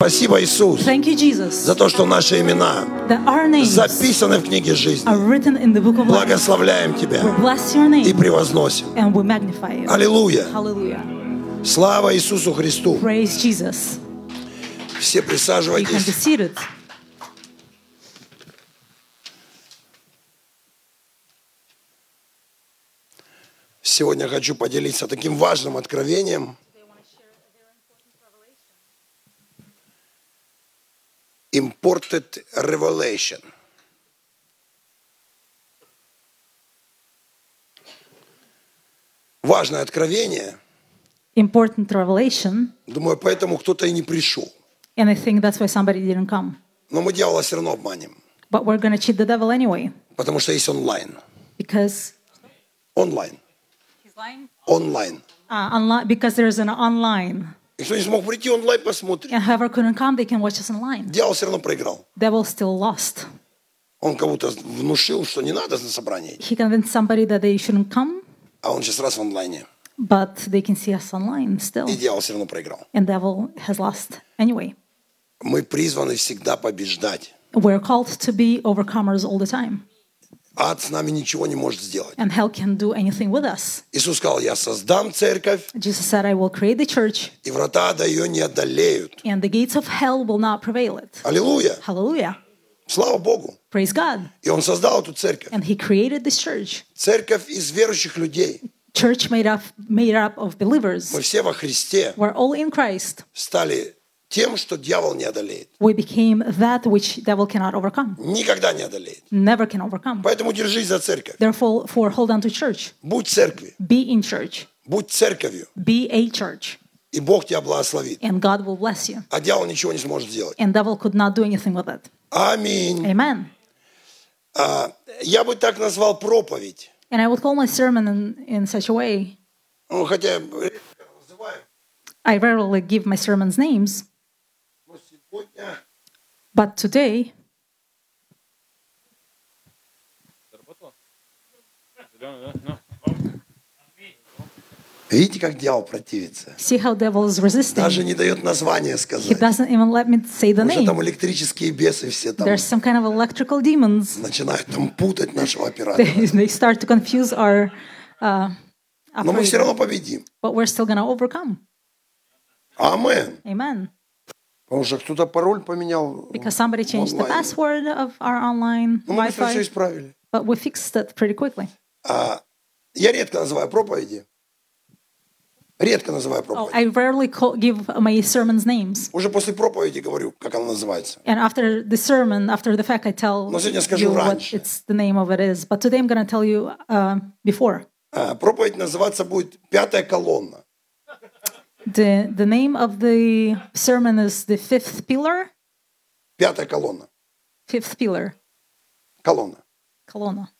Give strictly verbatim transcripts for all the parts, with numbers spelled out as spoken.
Спасибо, Иисус, Thank you, Jesus, за то, что наши имена that our names записаны в книге жизни. are written in the book of life. Благословляем We Тебя bless your и name превозносим. and we magnify you. Аллилуйя! Hallelujah. Слава Иисусу Христу! Praise Jesus. Все You can be присаживайтесь. seated. Сегодня хочу поделиться таким важным откровением. Imported Revelation. Важное откровение. Important revelation. Думаю, поэтому кто-то и не пришел. And I think that's why somebody didn't come. Но мы дьявола все равно обманем. But we're going to cheat the devil anyway. Потому что есть онлайн. Because Онлайн. he's lying? Онлайн. Uh, online, because there's an online. И кто не смог прийти онлайн, посмотрит. And whoever couldn't come, they can watch us online. Дьявол все равно проиграл. Devil still lost. Он кого-то внушил, что не надо на собрание. He convinced somebody that they shouldn't come, А он сейчас раз в онлайне. but they can see us online still. И дьявол все равно проиграл. And devil has lost anyway. Мы призваны всегда побеждать. We're called to be overcomers all the time. Ад с нами ничего не может сделать. And hell can't do anything with us. Иисус сказал, я создам церковь, Jesus said, I will create the church, и врата ада ее не одолеют. and the gates of hell will not prevail it. Аллилуйя! Hallelujah. Слава Богу! Praise God. И Он создал эту церковь. And he created this church. Церковь из верующих людей. Church made up, made up of believers. Мы все во Христе We're all in Christ. стали тем, что дьявол не одолеет. We became that which devil cannot overcome. Никогда не одолеет. Never can overcome. Поэтому держись за церковь. Therefore, for hold on to church. Будь церкви. Be in church. Будь церковью. Be a church. И Бог тебя благословит. And God will bless you. А дьявол ничего не сможет сделать. And devil could not do anything with it. Аминь. Amen. А, я бы так назвал проповедь. And I would call my sermon in, in such a way. Ну, хотя редко называю. I rarely give my sermons names. Но сегодня But today, видите, как дьявол противится? see how devil is resisting. Даже не дает название He сказать. doesn't even let me say the Уже там name. электрические бесы все там There's some kind of electrical demons. начинают там путать нашего оператора. They, they start to confuse our uh, Но мы все operator. равно победим. But we're still going to overcome. Амен. Amen. Потому что кто-то пароль поменял. Because somebody changed the онлайн. password of our online Ну, мы быстро все Wi-Fi. исправили. But we fixed it pretty quickly. А, я редко называю проповеди. Редко называю Oh, проповеди. I rarely call, give my sermons names. Уже после проповеди говорю, как она называется. And after the sermon, after the fact, I tell Но сегодня скажу you what раньше. it's the name of it is. But today I'm going to tell you uh, before. А, проповедь называться будет «Пятая колонна». The, the name of the sermon is the fifth pillar. Пятая колонна. Fifth pillar. Колонна. Colonna.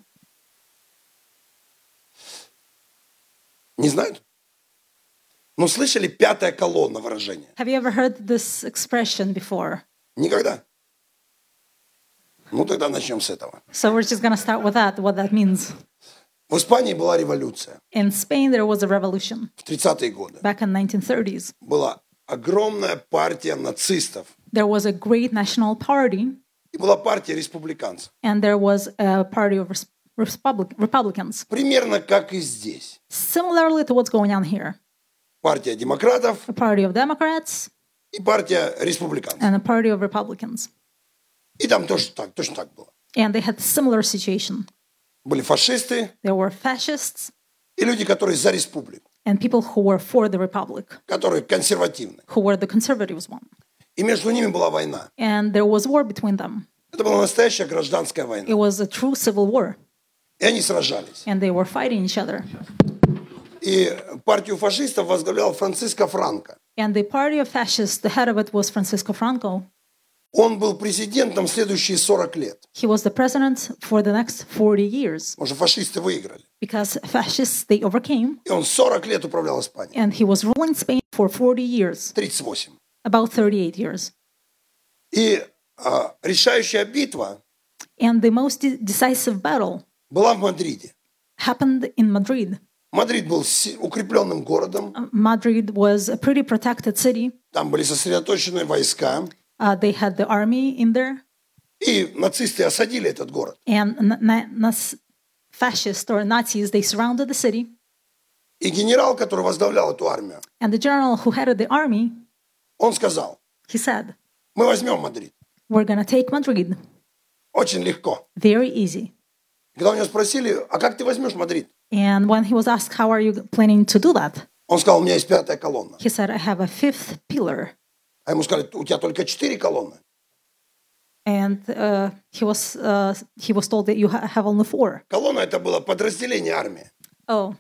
Не знают? Ну, слышали «пятая колонна» выражение? Have you ever heard this expression before? Никогда? Ну, тогда начнем с этого. So we're just going to start with that, what that means. В Испании была революция. In Spain, there was a revolution В тридцатые годы back in nineteen thirties. была огромная партия нацистов. There was a great national party, И была партия республиканцев. and there was a party of res- Republic- Republicans. Примерно как и здесь. Similarly to what's going on here. Партия демократов A party of Democrats и партия республиканцев. and a party of Republicans. И там тоже так, точно так было. And they had a similar situation. Были фашисты There were fascists и люди, которые за республику, and people who were for the Republic, которые консервативны. who were the conservatives one. И между ними была война. And there was war between them. Это была настоящая гражданская война. It was a true civil war. И они сражались. And they were fighting each other. И партию фашистов возглавлял Франциско Франко. And the party of fascists, the head of it was Francisco Franco. Он был президентом следующие сорок лет. He was the president for the next forty years. Потому что фашисты выиграли. Because fascists, they overcame. И он сорок лет управлял Испанией. And he was ruling Spain for forty years. тридцать восемь. About thirty-eight years. И а, решающая битва And the most de- decisive battle была в Мадриде. happened in Madrid. Мадрид был си- укрепленным городом, Madrid was a pretty protected city. там были сосредоточены войска, Uh, they had the army in there, и нацисты осадили этот город. and na- na- nas- fascists or Nazis, they surrounded the city. И генерал, который возглавлял эту армию, And the general who headed the army, он сказал, he said, мы возьмем Мадрид. we're going to take Madrid. Очень легко. Very easy. Когда у него спросили, а как ты возьмешь Мадрид? And when he was asked, how are you planning to do that? Он сказал, у меня есть пятая колонна. He said, I have a fifth pillar. А ему сказали, у тебя только четыре колонны. And uh, he was uh, he was told that you ha- have only four. Колонна это было подразделение армии. Oh.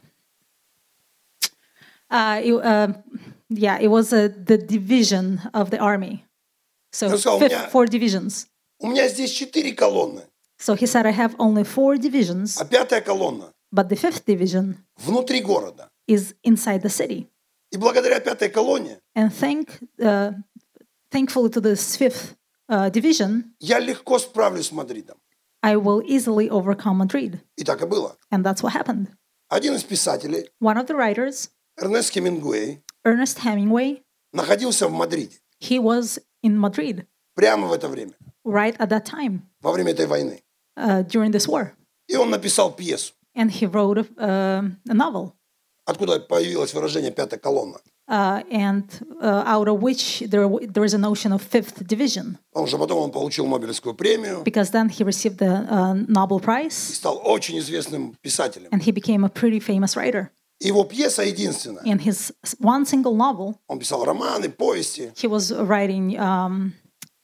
Uh, it, uh, yeah, it was uh, the division of the army. So Ну, сказал, у fifth, меня- four divisions. У меня здесь четыре колонны, So he said, I have only four divisions, а пятая колонна but the fifth division внутри города. is inside the city. И благодаря пятой колонне And thank, uh, thankfully to this fifth uh, division, я легко справлюсь с Мадридом. I will easily overcome Madrid. И так и было. And that's what happened. Один из писателей, One of the writers, Эрнест Хемингуэй, Ernest Hemingway, находился в Мадриде he was in Madrid прямо в это время, right at that time во время этой войны. uh, during this war. И он написал пьесу, And he wrote a, uh, a novel, откуда появилось выражение «пятая колонна». uh, and uh, out of which there, w- there is a notion of fifth division, Потому что потом он получил Нобелевскую премию because then he received the uh, Nobel и Prize, стал очень известным писателем. and he became a pretty famous writer. И его пьеса единственная. In his s- one single novel, Он писал романы, повести. he was writing. Um,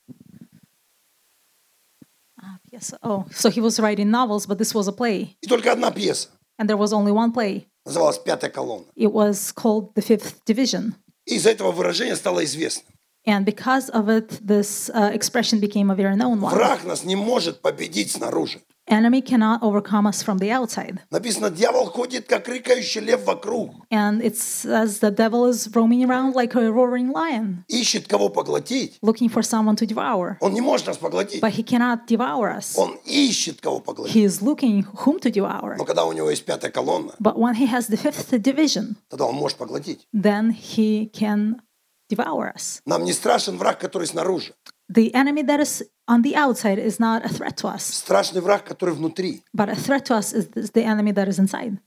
ah, yes. Oh, so he was writing novels, but this was a play, И только одна пьеса. and there was only one play. Называлась «Пятая колонна». It was called The Fifth Division, И из-за этого выражения стало известным. and because of it, this uh, expression became a very known one. Враг нас не может победить снаружи. Enemy cannot overcome us from the outside. Написано, дьявол ходит, как рыкающий лев вокруг. And it says the devil is roaming around like a roaring lion, Ищет, кого поглотить. looking for someone to devour. Он не может нас поглотить. But he cannot devour us. Он ищет, кого поглотить. He is looking whom to devour. Но когда у него есть пятая колонна, But when he has the fifth division, тогда он может поглотить. then he can devour us. Нам не страшен враг, который снаружи. The enemy that is on the outside is not a threat to us, Страшный враг, который внутри. but a threat to us is is the enemy that is inside.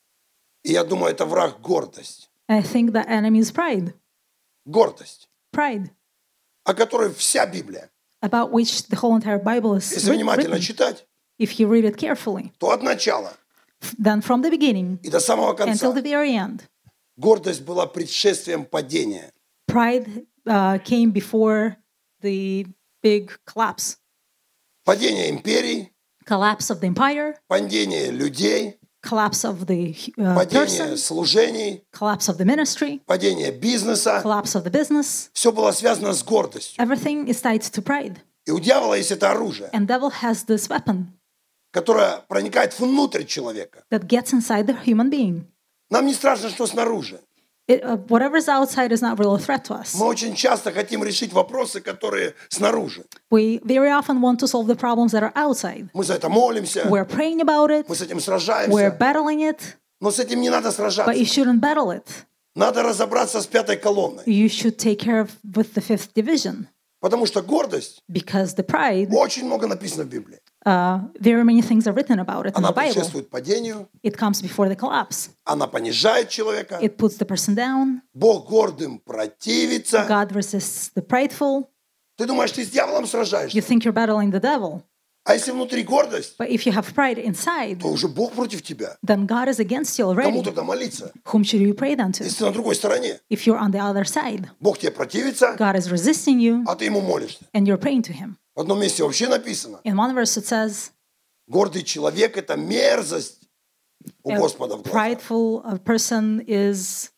И я думаю, это враг гордость. And I think the enemy is pride. Гордость, Pride, о которой вся Библия. about which the whole entire Bible is Если writ- внимательно written. читать, If you read it carefully, то от начала then from the beginning и до самого until конца the very end, гордость была предшествием падения. pride uh, came before the big collapse. Падение империй, Collapse of the empire, падение людей, collapse of the uh, падение person, служений, collapse of the ministry, падение бизнеса. collapse of the business. Все было связано с гордостью. Everything is tied to pride. И у дьявола есть это оружие, And devil has this weapon которое проникает внутрь человека. that gets inside the human being. Нам не страшно, что снаружи. It, uh, whatever's outside is not really a threat to us. Мы очень часто хотим решить вопросы, которые снаружи. We very often want to solve the problems that are outside. Мы за это молимся, We're praying about it, мы с этим we're сражаемся. battling it, Но с этим не надо but сражаться. you shouldn't battle it. Надо разобраться с пятой колонной. You should take care of with the fifth division, Потому что гордость, because the pride, очень много написано в Библии. uh, very many things are written about it in Она the Bible. предшествует падению, It comes before the collapse. она понижает человека. It puts the person down. Бог гордым противится. God resists the prideful. Ты думаешь, ты с дьяволом You сражаешься? think you're battling the devil, А если внутри гордость, but if you have pride inside, то уже Бог против тебя. then God is against you Кому already. тогда молиться, Whom should you pray then to? если ты на другой стороне? If you're on the other side, Бог тебе противится, God is resisting you, а ты ему молишься. and you're praying to Him. В одном месте вообще написано, In one verse it says, гордый человек – это мерзость у a Господа в глазах. prideful uh, person is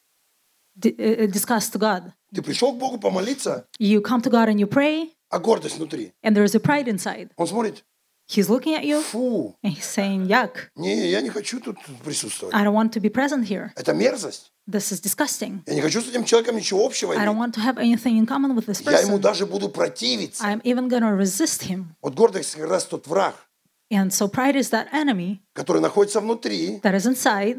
di- uh, disgust to God. Ты пришел к Богу помолиться, You come to God and you pray, а гордость внутри. and there is a pride inside. Он смотрит, He's looking at you, фу, and he's saying, Yuck, не, я не хочу тут присутствовать. I don't want to be present here. Это мерзость. This is disgusting. Я не хочу с этим человеком ничего общего I don't иметь. want to have anything in common with this Я ему person. даже буду противиться. I'm even going to resist him. Вот гордость как раз тот враг, And so pride is that enemy который находится внутри, that is inside,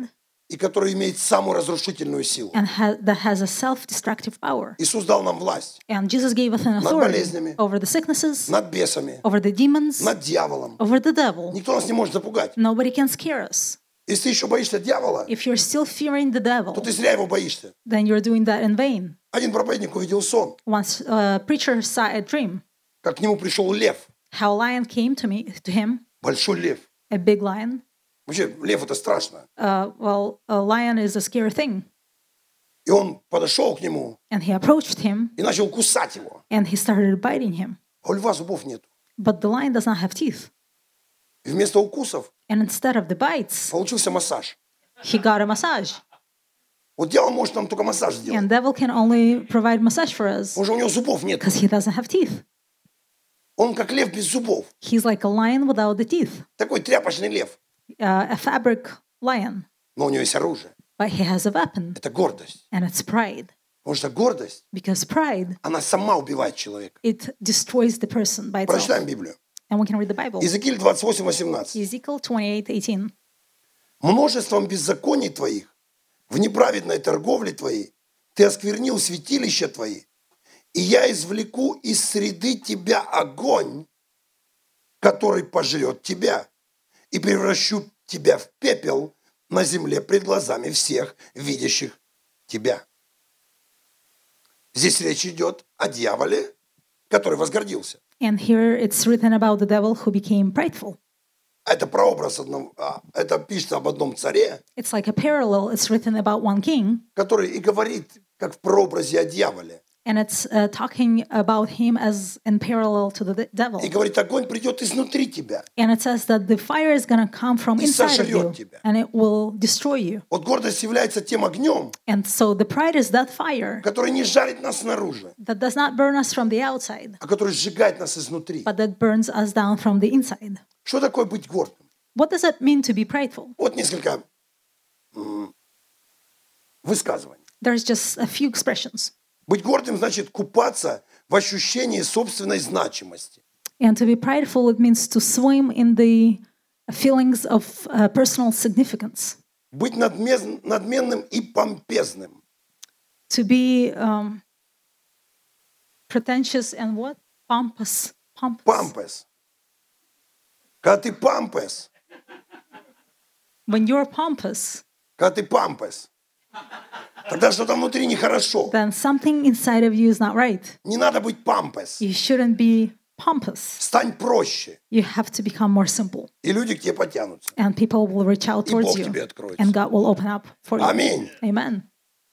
и который имеет самую разрушительную силу. and ha- that has a self-destructive power. Иисус дал нам власть And Jesus gave us an над authority болезнями, over the sicknesses, над бесами, over the demons, над дьяволом. over the devil. Никто нас не может запугать. Nobody can scare us. Если ты еще боишься дьявола, If you're still fearing the то devil, ты зря его боишься. then you're doing that in vain. Один проповедник увидел сон, Once a preacher saw a dream, как к нему пришел лев, how a lion came to me, to him, большой лев. a big lion. Вообще, лев это страшно. Uh, well, a lion is a scary thing. И он подошел к нему And he approached him, и начал кусать его. and he started biting him. А у льва зубов нет. But the lion does not have teeth. И вместо укусов And instead of the bites, получился массаж. he got a massage. Вот дьявол может нам только массаж сделать. And devil can only provide massage for us Потому что у него зубов нет. because he doesn't have teeth. Он как лев без зубов. He's like a lion without the teeth, Такой тряпочный лев. uh, a fabric lion, Но у него есть оружие. but he has a weapon, Это гордость. and it's pride. Потому что гордость, Because pride, она сама убивает человека. it destroys the person by itself. Прочитаем Библию. And we can read the Bible. Иезекииль двадцать восемь восемнадцать. Ezekiel twenty-eight eighteen. Множеством беззаконий твоих, в неправедной торговле твоей, ты осквернил святилища твои, и я извлеку из среды тебя огонь, который пожрет тебя, и превращу тебя в пепел на земле пред глазами всех, видящих тебя. Здесь речь идет о дьяволе, который возгордился. And here it's written about the devil who became prideful. Это прообраз одного, а, это пишется об одном царе, It's like a parallel. It's written about one king, который и говорит, как в прообразе о дьяволе. and it's uh, talking about him as in parallel to the de- devil. И говорит, огонь придет изнутри тебя. And it says that the fire is going to come from И inside of you, сожрет тебя. and it will destroy you. Вот гордость является тем огнем, And so the pride is that fire который не жарит нас снаружи, that does not burn us from the outside, а который сжигает нас изнутри. but that burns us down from the inside. Что такое быть гордым? What does it mean to be prideful? Вот несколько м, высказываний. There's just a few expressions. Быть гордым значит купаться в ощущении собственной значимости. And to be prideful, it means to swim in the feelings of uh, personal significance. Быть надмез- надменным и помпезным. To be um, pretentious and what? Pompous. Pompous. Пампес. Когда ты пампес, When you're pompous, когда ты пампес, тогда что-то внутри нехорошо. then something inside of you is not right. Не надо быть пампес. You shouldn't be pompous. Стань проще, You have to become more simple. и люди к тебе потянутся. And people will reach out И towards Бог you. тебе откроется. And God will open up for you. Аминь. Amen.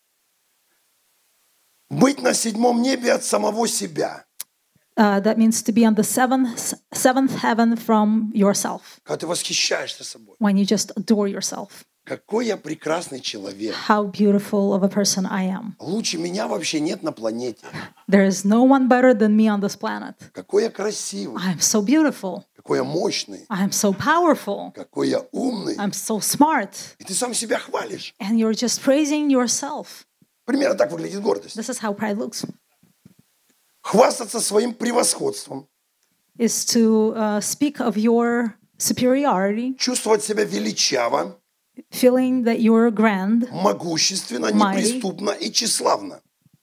Быть на седьмом небе от самого себя. Uh, that means to be on the seventh, seventh heaven from yourself. Когда ты восхищаешься собой. When you just adore yourself. Какой я прекрасный человек. How beautiful of a person I am. Лучше меня вообще нет на планете. There is no one better than me on this planet. Какой я красивый. I am so beautiful. Какой я мощный. I am so powerful. Какой я умный. I'm so smart. И ты сам себя хвалишь. And you're just praising yourself. Примерно так выглядит гордость. This is how pride looks. Хвастаться своим превосходством. Is to uh, speak of your superiority, Чувствовать себя величаво, feeling that you're grand, могущественно, Mighty. неприступно и тщеславно.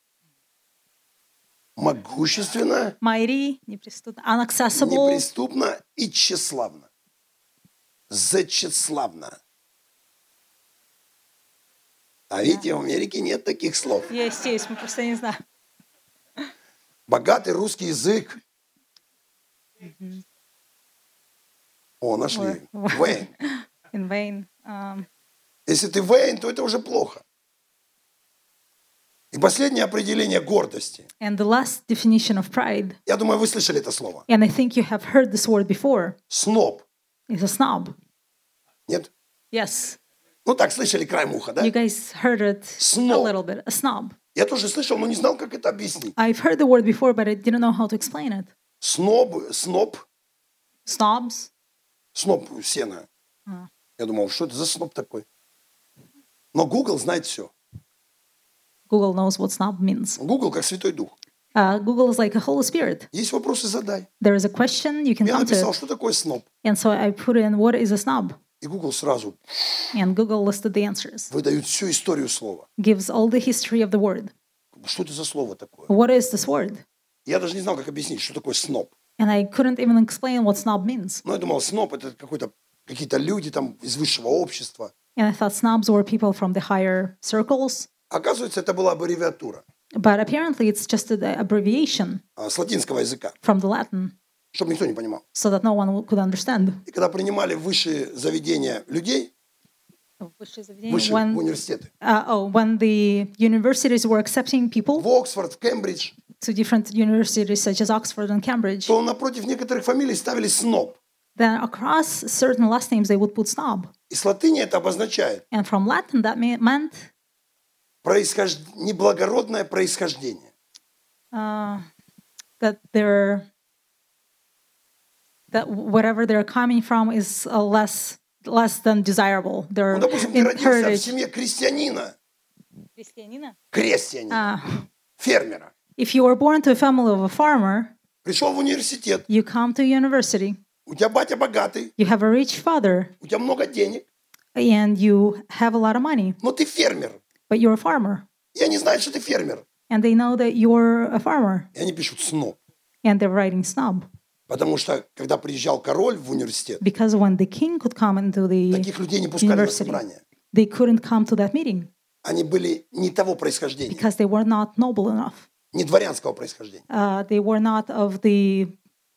Могущественно, mighty, неприступно, unaccessible, неприступно и тщеславно. Зачеславно. А видите, в Америке нет таких слов. Есть, есть, мы просто не знаем. Богатый русский язык. О, нашли. Вейн. In vain. Um, Если ты Вейн, то это уже плохо. И последнее определение гордости. and the last definition of pride, Я думаю, вы слышали это слово. and I think you have heard this word before, Сноб. is a snob. Нет? Yes, Ну так, слышали краем уха, да? you guys heard it a Snob. little bit. A snob. Я тоже слышал, но не знал, как это объяснить. I've heard the word before, but I didn't know how to explain it. Сноб, сноб, Snobs. сноб сена. Я думал, что это за сноб такой? Но Google знает все. Google knows what snob means. Google как Святой Дух. Uh, Google is like a Holy Spirit. Есть вопросы, задай. There is a question, you can Я come to написал, it. что такое сноб. And so I put in, what is a snob? И Google сразу And Google listed the answers, выдают всю историю слова. gives all the history of the word. Что это за слово такое? What is this word? Я даже не знал, как объяснить, что такое сноб. And I couldn't even explain what snob means. Но я думал, сноб это какой-то, какие-то люди там из высшего общества. And I thought snobs were people from the higher circles. Оказывается, это была аббревиатура But apparently it's just an abbreviation а, с латинского языка, from the Latin, чтобы никто не понимал. so that no one could understand. И когда принимали в высшие заведения людей, высшие в When, университеты, uh, oh, when the universities were accepting people в Оксфорд, в Кембридж, to different universities such as Oxford and Cambridge, то напротив некоторых фамилий ставили сноб. then across certain last names they would put snob. И с латыни это обозначает And from Latin that me- meant происхож... неблагородное происхождение. uh, that they're that whatever they're coming from is uh, less less than desirable. Their Ну, допустим, ты in родился в heritage. семье крестьянина, крестьянина, Uh, фермера. if you were born to a family of a farmer, Пришел в университет, you come to university, у тебя батя богатый, you have a rich father, у тебя много денег, and you have a lot of money, но ты фермер. but you're a farmer, И они знают, что ты фермер. and they know that you're a farmer, И они пишут сноб. and they're writing snob. Потому что, когда приезжал король в университет, Because when the king could come into the таких людей не пускали на university, собрания. they couldn't come to that meeting Они были не того происхождения, because they were not noble enough. не дворянского происхождения. Uh, they were not of the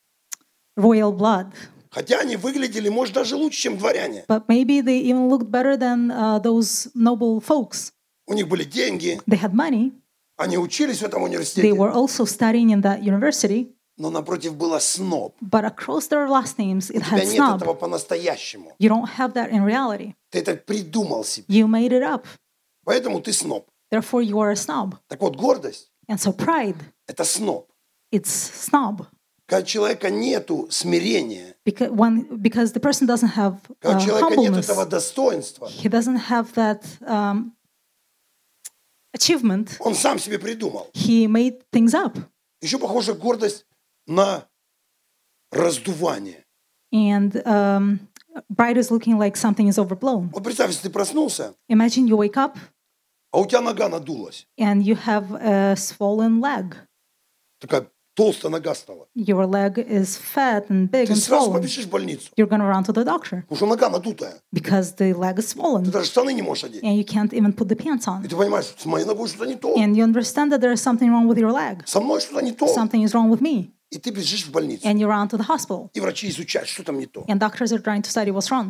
royal blood, Хотя они выглядели, может, даже лучше, чем дворяне. but maybe they even looked better than uh, those noble folks. У них были деньги, They had money. они учились в этом They университете, were also studying in that university, но напротив было сноб. but across their last names it У тебя had нет snob. этого по-настоящему. You don't have that in reality. Ты это придумал себе. You made it up. Поэтому ты сноб. Therefore, you are a snob. Так вот, гордость And so pride, – это сноб. it's snob. Когда у человека нету смирения, Because, when, because the person doesn't have когда uh, у человека нет humbleness, этого достоинства, he doesn't have that um, achievement. он сам себе придумал. He made things up. Еще похоже гордость на раздувание. And um, pride is looking like something is overblown. Вот представь, если ты проснулся, Imagine you wake up а у тебя нога надулась. and you have a swollen leg. Такая толстая нога стала. Your leg is fat and big Ты and сразу swollen. побежишь в больницу, You're going to run to the doctor потому что нога надутая. because the leg is Ты swollen даже штаны не можешь одеть. and you can't even put the pants И on. ты понимаешь, с моей ногой что-то не то. And you understand that there is something wrong with your leg. Со мной что-то не то. Something is wrong with me. И ты бежишь в больницу. And you run to the hospital. И врачи изучают, что там не то. And doctors are trying to study what's wrong.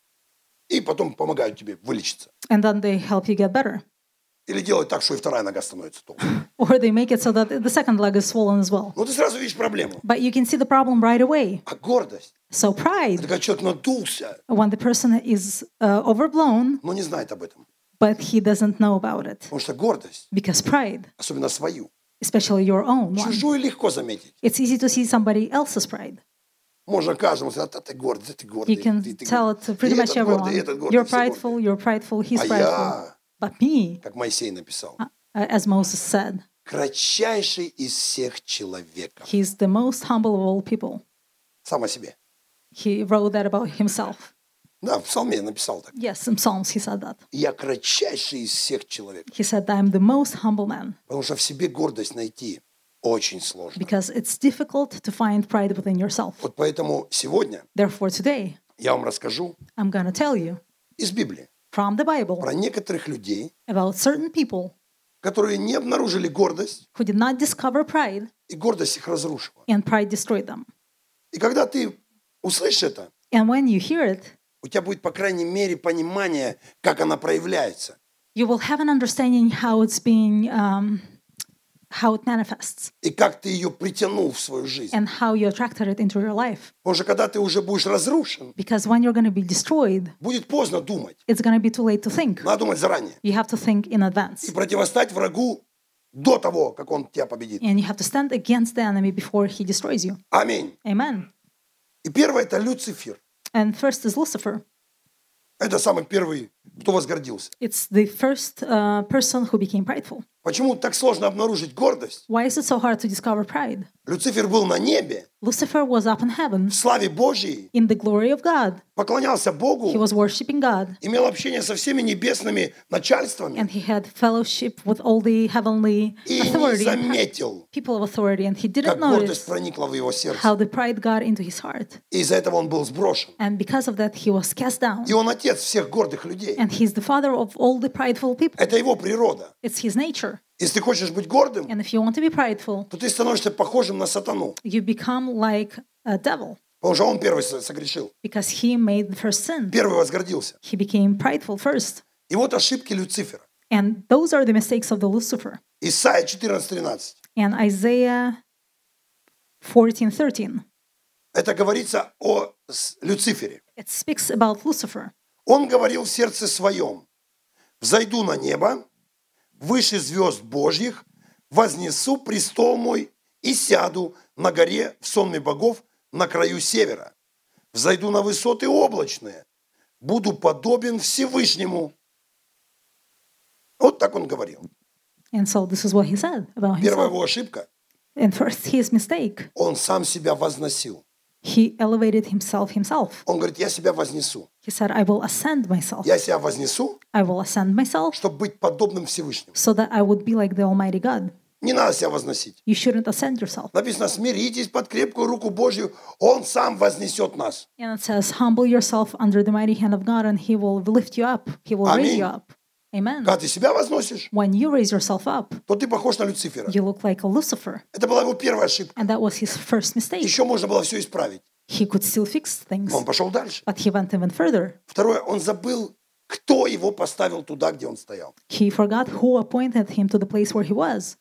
И потом помогают тебе вылечиться. And then they help you get better. Или делают так, что и вторая нога становится толстой. Or they make it so that the second leg is swollen as well. Но ты сразу видишь проблему. But you can see the problem right away. А гордость So – это pride, когда человек надулся, when the person is uh, overblown, но не знает об этом. but he doesn't know about it. Потому что гордость, Because pride, особенно свою, especially your own one, чужую легко заметить. it's easy to see somebody else's pride. Можно каждому сказать, а ты гордый, а ты гордый. You can ты- ты tell гордый. it to pretty И much этот гордый, everyone. и этот гордый, You're все prideful, гордые. you're prideful, he's А prideful. я, But me, как Моисей написал, uh, as Moses said, кратчайший из всех человеков. he's the most humble of all people. Сам о себе. He wrote that about himself. Да, в псалме написал так. Yes, in Psalms he said that. Я кратчайший из всех человеков. He said, I'm the most humble man Потому что в себе гордость найти очень сложно. because it's difficult to find pride within yourself. Вот поэтому сегодня Therefore, today, я вам расскажу I'm going to tell you из Библии from the Bible про некоторых людей, about certain people которые не обнаружили гордость, who did not discover pride и гордость их разрушила. and pride destroyed them. И когда ты услышишь это, And when you hear it, у тебя будет, по крайней мере, понимание, как она проявляется. you will have an understanding how it's being, um, how it manifests И как ты ее притянул в свою жизнь. and how you attracted it into your life. Потому что когда ты уже будешь разрушен, Because when you're going to be destroyed, будет поздно думать. it's going to be too late to think. Надо думать заранее. You have to think in И advance. противостать врагу до того, как он тебя победит. And you have to stand against the enemy before he destroys you. Аминь. Amen. И первое – это Люцифер. And first is Lucifer. Это самый первый кто возгордился. It's the first uh, person who became prideful. Почему так сложно обнаружить гордость? Why is it so hard to discover pride? Люцифер был на небе, Lucifer was up in heaven в славе Божьей, in the glory of God. поклонялся He Богу, was worshiping God, имел общение со всеми небесными начальствами and he had fellowship with all the heavenly и не authority, заметил, people of authority, and he didn't как гордость notice проникла в его сердце. how the pride got into his heart. И из-за этого он был сброшен. And because of that, he was cast down. И он отец всех гордых людей. And he's the father of all the prideful people. Это его природа. It's his nature. Если ты хочешь быть гордым, And if you want to be prideful, то ты становишься похожим на сатану. you become like a devil Потому что он первый со- согрешил. because he made the first sin. Первый возгордился. He became prideful first. И вот ошибки Люцифера. And those are the mistakes of the Lucifer. Исайя четырнадцать тринадцать. And Isaiah fourteen thirteen, Это говорится о с- Люцифере. it speaks about Lucifer. Он говорил в сердце своем: «Взойду на небо, выше звезд Божьих, вознесу престол мой и сяду на горе в сонме богов на краю севера. Взойду на высоты облачные, буду подобен Всевышнему». Вот так он говорил. And so this is what he said about Первая himself. его ошибка: And first, his mistake, он сам себя возносил. he elevated himself himself. Он говорит: «Я себя вознесу. He said, I will ascend myself. Я себя вознесу, I will ascend myself чтобы быть подобным Всевышнему». so that I would be like the Almighty God. Не надо себя возносить. You shouldn't ascend yourself. Написано: «Смиритесь под крепкую руку Божью, Он сам вознесет нас». And it says, humble yourself under the mighty hand of God and he will lift you up. He will raise Аминь. you up. Amen. Когда ты себя возносишь, When you raise yourself up, то ты похож на Люцифера. you look like a Lucifer. Это была его первая ошибка. And that was his first mistake. Еще можно было все исправить. He could still fix things, Но он пошел дальше. but he went even further. Второе, он забыл, кто его поставил туда, где он стоял. He forgot who appointed him to the place where he was.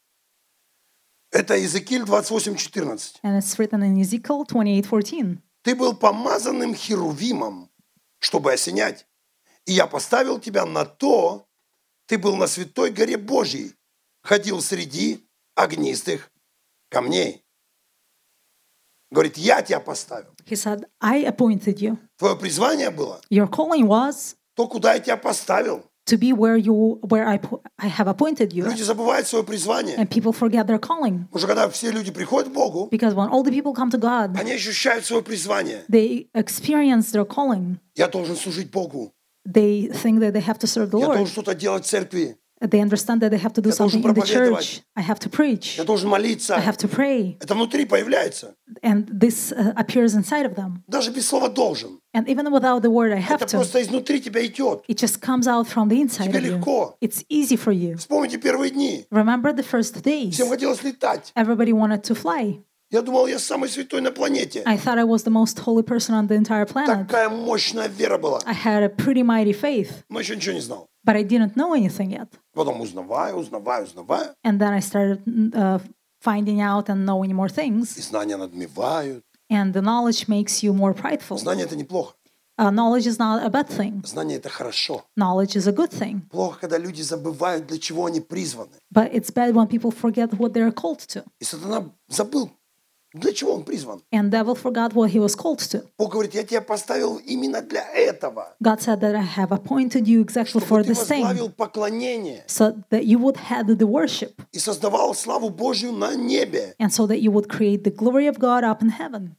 Это Иезекииль двадцать восемь четырнадцать. And it's written in Ezekiel twenty-eight fourteen. «Ты был помазанным херувимом, чтобы осенять, и я поставил тебя на то, ты был на святой горе Божьей, ходил среди огнистых камней». Говорит: «Я тебя поставил». He said, I appointed you. Твое призвание было Your calling was то, куда я тебя поставил. to be where you where I po- I have appointed you. Люди забывают свое призвание. And people forget their calling. Потому что когда все люди приходят к Богу, Because when all the people come to God, они ощущают свое призвание. they experience their calling. Я должен служить Богу. They think that they have to serve the Я должен Lord. что-то делать в церкви. They understand that they have to do Я должен something in the проповедовать. church. I have to preach. Я должен молиться. I have to pray. Это внутри появляется. And this uh, appears inside of them. Даже без слова «должен». And even without the word I have Это to, просто изнутри тебя идет. it just comes out from the inside Тебе of you. легко. It's easy for you. Вспомните первые дни. Remember the first days? Всем хотелось летать. Everybody wanted to fly. Я думал, я самый святой на планете. I thought I was the most holy person on the entire planet. Такая мощная вера была. I had a pretty mighty faith, Но еще ничего не знал. but I didn't know anything yet. Потом узнаваю, узнаваю, узнаваю. And then I started uh, finding out and knowing more И things. знания надмевают. And the knowledge makes you more prideful. Знание – это неплохо. Uh, knowledge is not a bad thing. Знание – это хорошо. Knowledge is a good thing. Плохо, когда люди забывают, для чего они призваны. But it's bad when people forget what they're called to. И сатана забыл, для чего он призван. And devil forgot what he was called to. Бог говорит: «Я тебя поставил именно для этого, God said that I have appointed you exactly for чтобы ты this thing, возглавил поклонение so that you would head the worship, и создавал славу Божью на небе». and so that you would create the glory of God up in heaven.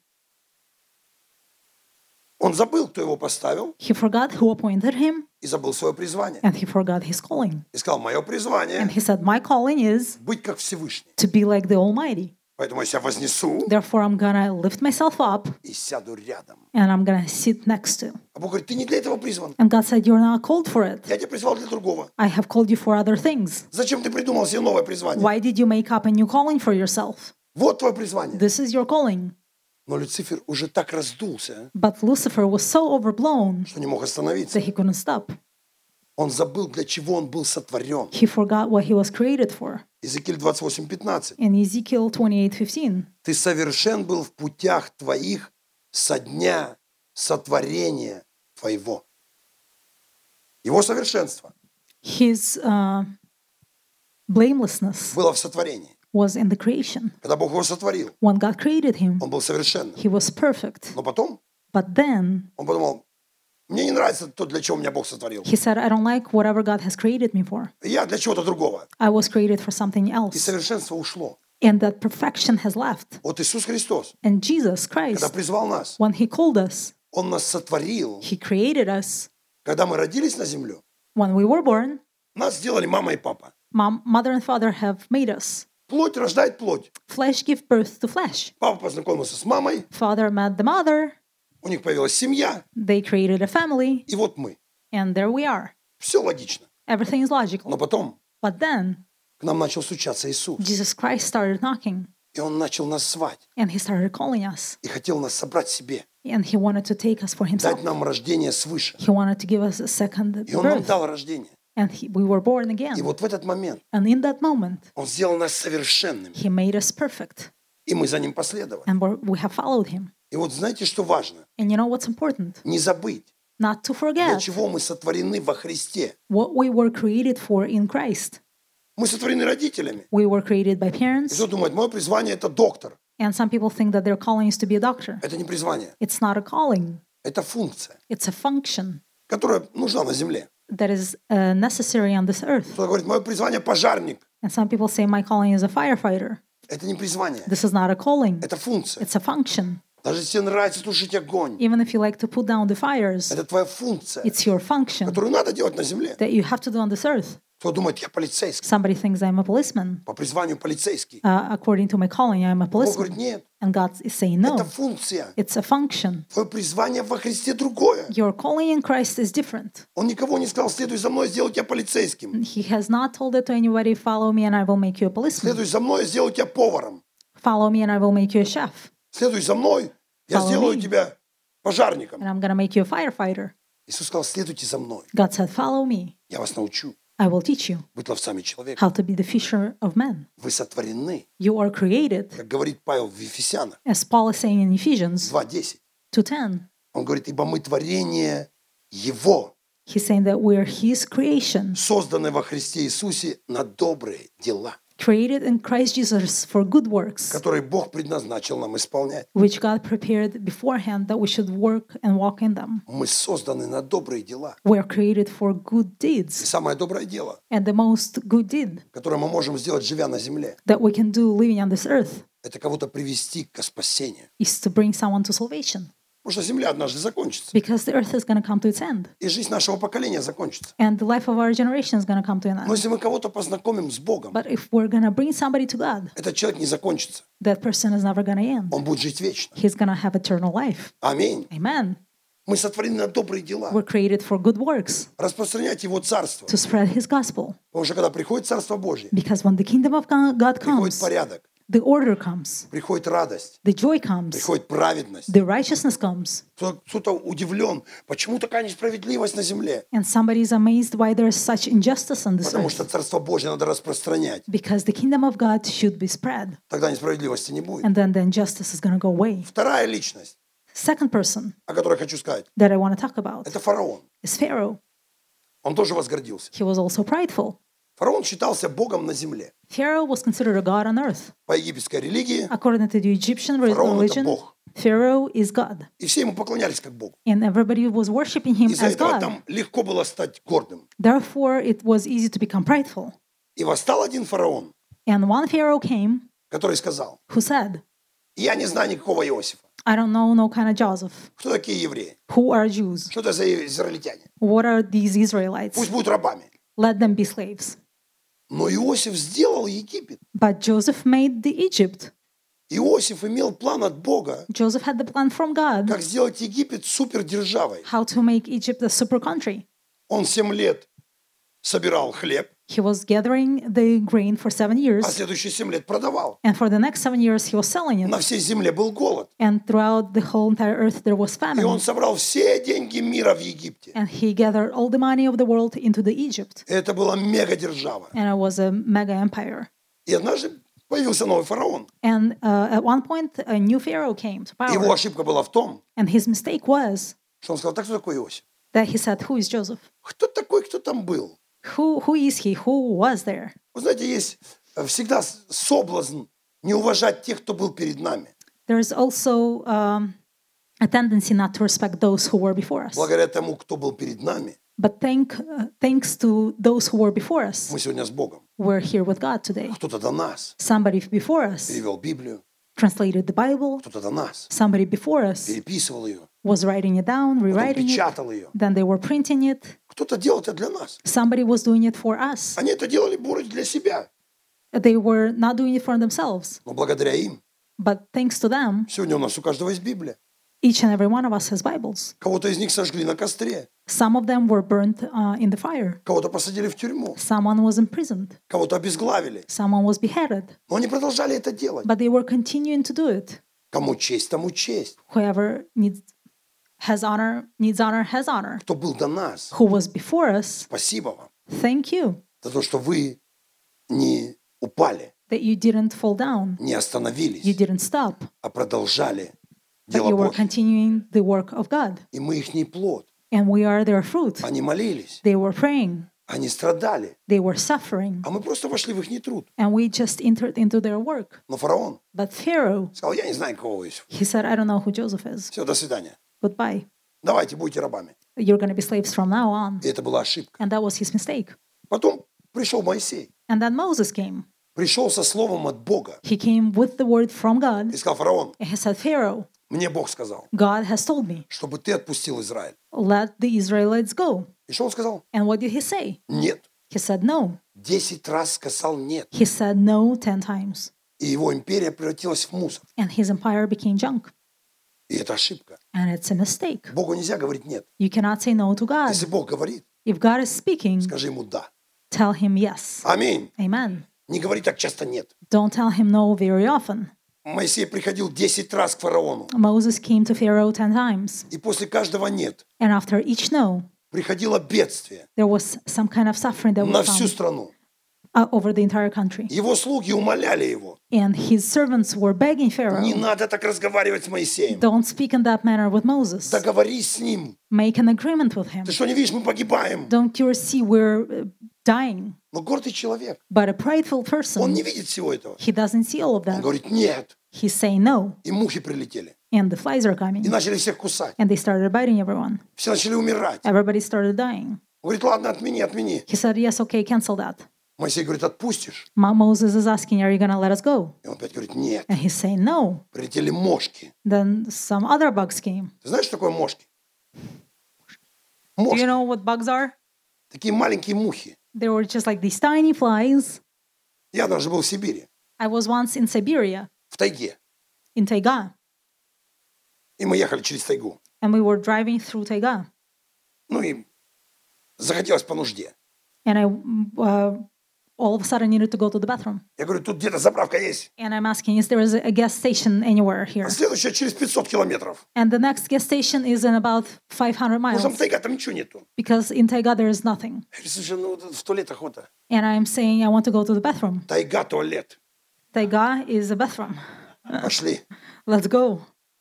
Он забыл, кто его поставил, He forgot who appointed him, и забыл свое призвание. and he forgot his calling. И сказал: «Мое And призвание he said, my calling is – быть как Всевышний. to be like the Almighty. Поэтому я себя вознесу Therefore, I'm going to lift myself up, и сяду рядом». and I'm going to sit next to. А Бог говорит: «Ты не для этого призван. And God said, you're not called for it. Я тебя призвал для другого. I have called you for other things. Зачем ты придумал себе новое призвание? Why did you make up a new calling for yourself? Вот твое призвание». This is your calling. Но Люцифер уже так раздулся, But Lucifer was so overblown что не мог остановиться. that he couldn't stop. Он забыл, для чего он был сотворен. He forgot what he was created for. Иезекииль двадцать восемь пятнадцать. In Ezekiel twenty-eight fifteen, «Ты совершен был в путях твоих со дня сотворения твоего». Его совершенство his uh, blamelessness было в сотворении. was in the creation. Когда Бог его сотворил, When God created him, он был совершенным. he was perfect. Но потом But then он подумал: Мне не нравится то, для чего меня Бог сотворил. He said, I don't like whatever God has created me for. Я для чего-то другого. I was created for something И else. совершенство ушло. And that perfection has left. Вот Иисус Христос, And Jesus когда Christ, призвал нас, when He called us, Он нас сотворил. He created us. Когда мы родились на землю, When we were born, нас сделали мама и папа. mom, mother and father have made us. Плоть рождает плоть. Flesh gives birth to flesh. Папа познакомился с мамой, Father met the mother. у них появилась семья, They created a family. и вот мы. And there we are. Все логично. Everything is Но logical. потом But then, к нам начал стучаться Иисус. Jesus Christ started knocking. И Он начал нас звать. And He started calling us. И хотел нас собрать себе. And He wanted to take us for Himself. Дать нам рождение свыше. He wanted to give us a second И Он нам birth. дал рождение. And he, we were born И again. вот в этот момент And in that moment, Он сделал нас совершенными. He made us perfect. И мы за Ним последовали. And we're, we have followed Him. И вот знаете, что важно? And you know what's important? Не забыть, Not to для forget чего мы сотворены во Христе. what we were created for in Christ. Мы сотворены родителями. We were created by И parents. кто думает, мое призвание – это доктор. And some people think that their calling is to be a doctor. Это не призвание. It's not a calling. Это функция, It's a function которая нужна на земле. that is uh, necessary on this earth. Кто-то говорит, мое призвание – пожарник. And some people say, my calling is a firefighter. Это не призвание. This is not a calling. Это функция. It's a function. Даже если тебе нравится тушить огонь, Even if you like to put down the fires, это твоя функция, it's your function которую надо делать на земле. that you have to do on this earth. Кто думает, я полицейский, Somebody thinks I'm a policeman. по призванию полицейский. Uh, according to my calling, I'm a Бог policeman. говорит, нет, And God is saying это no. функция. It's a function. Твое призвание во Христе другое. Your calling in Christ is different. Он никого не сказал, следуй за мной, сделаю тебя полицейским. He has not told it to anybody, follow me and I will make you a policeman. Следуй за мной, сделаю тебя поваром. Follow me and I will make you a chef. Следуй за мной, я Follow сделаю me. тебя пожарником. And I'm going to make you a firefighter. Иисус сказал, следуйте за мной, God said, follow me. я вас научу I will teach you быть ловцами человека. how to be the fisher of men. Вы сотворены, You are created, как говорит Павел в Ефесянах as Paul is saying in Ephesians два десять. two ten. Он говорит, ибо мы творение Его, He's saying that we're His creation, созданы во Христе Иисусе на добрые дела, created in Christ Jesus for good works, которые Бог предназначил нам исполнять. which God prepared beforehand that we should work and walk in them. Мы созданы на добрые дела. We're created for good И deeds. самое доброе дело, And the most good deed которое мы можем сделать, живя на земле, that we can do living on this earth это кого-то привести к спасению. is to bring someone to salvation. Потому что земля однажды закончится. Because the earth is going to come to its end. И жизнь нашего поколения закончится. And the life of our generation is going to come to an Но end. если мы кого-то познакомим с Богом, But if we're going to bring somebody to God, этот человек не закончится. that person is never going to end. Он будет жить вечно. He's going to have eternal life. Аминь. Amen. Мы сотворены на добрые дела. We're created for good works, Распространять Его Царство. to spread His gospel. Потому что когда приходит Царство Божье, Because when the kingdom of God God приходит comes, порядок, the order comes, приходит радость, the joy comes, приходит праведность. the righteousness comes. Кто- Кто-то удивлен, почему такая несправедливость на земле? And somebody is amazed why there is such injustice on this Потому что earth. Царство Божье надо распространять. Because the kingdom of God should be spread. Тогда несправедливости не будет. And then the injustice is going to go away. Вторая личность, Second person о которой хочу сказать, that I want to talk about это фараон. is Pharaoh. Он тоже возгордился. He was also prideful. Фараон считался Богом на земле. Pharaoh was considered a god on earth. По египетской религии According to the Egyptian re- фараон это religion, Бог. Pharaoh is God. И все ему поклонялись как Богу. And everybody was worshiping him Из-за as этого God. там легко было стать гордым. Therefore, it was easy to become prideful. И восстал один фараон, And one Pharaoh came который сказал, who said, я не знаю никакого Иосифа. I don't know no kind of Joseph. Кто такие евреи? Who are Jews? Что это за израильтяне? What are these Israelites? Пусть будут рабами. Let them be slaves. Но Иосиф сделал Египет. But Joseph made the Egypt. Иосиф имел план от Бога, Joseph had the plan from God как сделать Египет супердержавой. how to make Egypt a super country. Он семь лет собирал хлеб, He was gathering the grain for seven а years, следующие семь лет продавал. and for the next seven years he was selling it. На всей земле был голод. And throughout the whole entire earth there was И он famine. собрал все деньги мира в Египте. And he gathered all the money of the world into the Egypt. Это была мегадержава. And it was a mega empire. И однажды появился новый фараон. And uh, at one point, a new pharaoh came to Его power. ошибка была в том, And his mistake was что он сказал, так кто такой Иосиф? that he said, who is Joseph? Кто такой, кто там был? Who, who is he? Who was there? Вы знаете, есть э, всегда с- соблазн не уважать тех, кто был перед нами. There's also um, a tendency not to respect those who were before us. Благодаря тому, кто был перед нами, But thank, uh, thanks to those who were before us, мы сегодня с Богом. we're here with God today. Кто-то до нас Somebody before us перевел Библию, translated the Bible. кто-то до нас Somebody before us переписывал ее, was writing it down, потом rewriting it. печатал ее. Then they were printing it. Кто-то делал это для нас. Somebody was doing it for us. Они это делали, может, для себя. They were not doing it for themselves. Но благодаря им But thanks to them, сегодня у нас у каждого есть Библия. each and every one of us has Bibles. Кого-то из них сожгли на костре, Some of them were burnt uh, in the fire. кого-то посадили в тюрьму, Someone was imprisoned. кого-то обезглавили. Someone was beheaded. Но они продолжали это делать. But they were continuing to do it. Кому честь, тому честь. Whoever needs has honor, needs honor, has honor. Кто был до нас, Who was before us, спасибо вам thank you за то, что вы не упали, that you didn't fall down. не You остановились, didn't stop. а продолжали But дело you were Божье. continuing the work of God. И мы их не плод. And we are their fruit. Они молились, They were praying. они страдали, They were suffering. а мы просто вошли в их труд. And we just entered into their work. Но фараон But Pharaoh, сказал, я не знаю, кого вы Иосиф. he said, I don't know who Joseph is. Все, до свидания. Goodbye. Давайте, будьте рабами. You're going to be slaves from now on. И это была ошибка. And that was his mistake. Потом пришел Моисей. And then Moses came. Пришел со словом от Бога. He came with the word from God. И сказал, фараон, And he said, Pharaoh, мне Бог сказал, God has told me, чтобы ты отпустил Израиль. let the Israelites go. И что он сказал? And what did he say? Нет. He said no. Десять раз сказал нет. He said no ten times. И его империя превратилась в мусор. And his empire became junk. И это ошибка. And it's a mistake. Богу нельзя говорить нет. You cannot say no to God. Если Бог говорит, If God is speaking, скажи ему да. tell him yes. Аминь. Amen. Не говори так часто нет. Don't tell him no very often. Моисей приходил десять раз к фараону. Moses came to Pharaoh ten times. И после каждого нет And after each no, приходило бедствие there was some kind of suffering that на would всю come страну. uh, over the entire country. Его слуги умоляли его. And his servants were begging Pharaoh, Не надо так разговаривать с Моисеем. don't speak in that manner with Moses. Договорись с ним. Make an agreement with him. Ты что, не видишь, мы погибаем. Don't you see we're uh, dying? Но гордый человек, But a prideful он person, не видит всего этого. he doesn't see all of Он that. говорит, нет. He's saying no. И мухи прилетели. And the flies are coming. И начали всех кусать. And they started biting everyone. Все начали умирать. Everybody started dying. Он говорит, ладно, отмени, отмени. He said, yes, okay, cancel that. Моисей говорит, отпустишь? Mo- Moses is asking, are you going to let us go? И он опять говорит, нет. And he's saying no. Прилетели мошки. Then some other bugs came. Ты знаешь, что такое мошки? Do you Мошки. know what bugs are? Такие маленькие мухи. They were just like these tiny flies. Я даже был в Сибири, I was once in Siberia, в тайге. in Taiga, И мы ехали через тайгу. and we were driving through Taiga. Ну и захотелось по нужде. And I uh, all of a sudden needed to go to the bathroom. Я говорю, тут где-то заправка есть. And I'm asking, is there a gas station anywhere here? А следующая через пятьсот километров. And the next gas station is in about five hundred Потому что там miles, тайга, там ничего нету. because in Taiga there is nothing. Я говорю, слушай, ну вот в туалет охота. And I'm saying I want to go to the bathroom. Тайга, туалет. Taiga is a bathroom. Пошли. Let's go.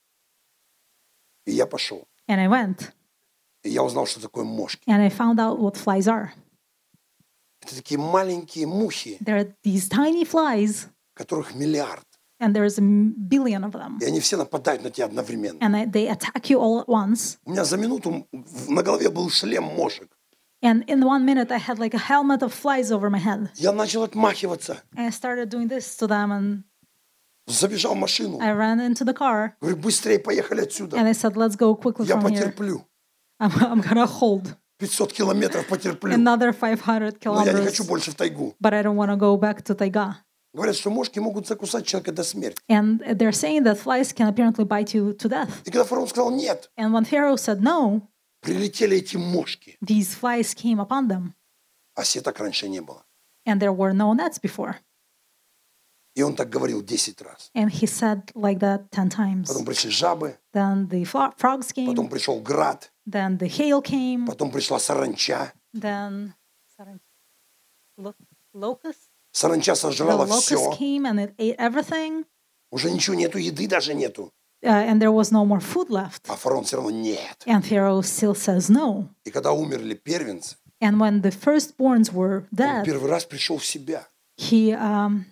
И я пошел. And I went. И я узнал, что такое мошки. And I found out what flies are. Это такие маленькие мухи, There are these tiny flies, которых миллиард. and there's a m- billion of them. И они все нападают на тебя одновременно. And I- they attack you all at once. У меня за минуту в- на голове был шлем мошек. And in one minute, I had like a helmet of flies over my head. Я начал отмахиваться. And I started doing this to them, and Забежал в машину. I ran into the car. Говорю, быстрее, поехали отсюда. And I said, let's go quickly Я from here. потерплю. I'm, I'm gonna hold пятьсот километров потерплю. another five hundred Но я не kilometers, хочу больше в тайгу. but I don't want to go back to Taiga. Говорят, что мошки могут закусать человека до смерти. And they're saying that flies can apparently bite you to death. И когда фараон сказал нет, And when Pharaoh said no, прилетели эти мошки. these flies came upon them. А сеток раньше не было. And there were no nets before. И он так говорил десять раз. And he said like that ten times. Потом пришли жабы, Then the fro- frogs came. потом пришел град, Then the hail came. потом пришла саранча. Then sorry, lo- locust. Саранча The сожрала locust все. came and it ate everything. Уже ничего нету, еды даже нету. Uh, and there was no more food left. А фараон все равно нет. And Pharaoh still says no. И когда умерли первенцы, And when the firstborns were он dead, первый раз пришел в себя. he um,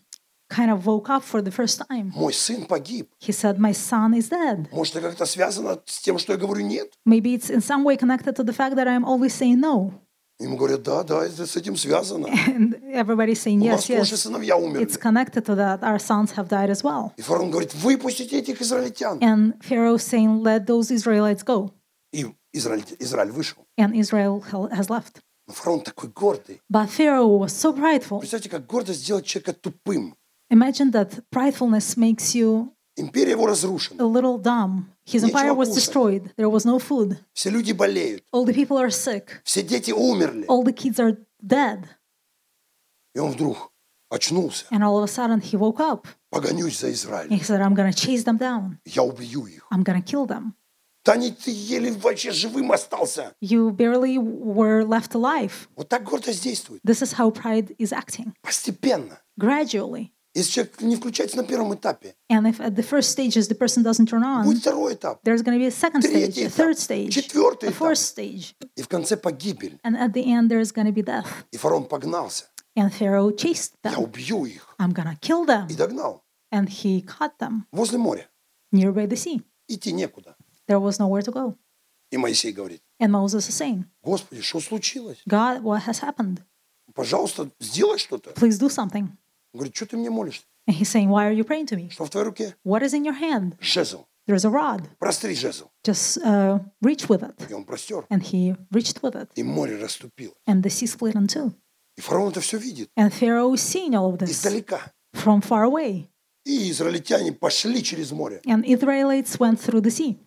kind of woke up for the first time. Мой сын погиб. He said, my son is dead. Может, это как-то связано с тем, что я говорю нет? Maybe it's in some way connected to the fact that I'm always saying no. Ему говорят, да, да, это с этим связано. And everybody's saying, У вас yes, тоже yes. сыновья умерли. It's connected to that. Our sons have died as well. И фараон говорит, выпустите этих израильтян. And Pharaoh saying, let those Israelites go. И Израиль, Израиль вышел. And Israel has left. Но фараон такой гордый. But Pharaoh was so prideful. Представьте, как гордость сделать человека тупым. Imagine that pridefulness makes you Империя его a разрушена. little dumb. His empire was destroyed. There was no food. Все люди болеют. All the people are sick. Все дети умерли. All the kids are dead. И он вдруг очнулся. And all of a sudden he woke up. Погонюсь за And Израилем. he said, I'm going to chase them down. Я убью их. I'm going to kill them. Да не ты еле вообще живым остался. You barely were left alive. Вот так гордость действует. This is how pride is acting. Постепенно. Gradually. Если человек не включается на первом этапе, And if at the first stages the person doesn't turn on, будет второй этап. there's going to be a second stage, Третий a этап, third stage, четвертый a fourth этап. stage. И в конце погибель. And at the end, there's going to be death. И фараон погнался. And Pharaoh chased Я them. убью их. I'm going to kill them. И догнал. And he caught them Возле моря. nearby the sea. Идти некуда. There was nowhere to go. И Моисей говорит, And Moses is saying, Господи, что случилось? God, what has happened? Пожалуйста, сделай что-то. Please do something. Он говорит, что ты мне молишься? And he's saying, why are you praying to me? Что в твоей руке? What is in your hand? Жезл. There's a rod. Простри жезл. Just uh, reach with it. И он простер. And he reached with it. И море расступилось. And the sea split in two. И фараон это все видит. And Pharaoh is seeing all of this Издалека. from far away. И израильтяне пошли через море. And Israelites went through the sea.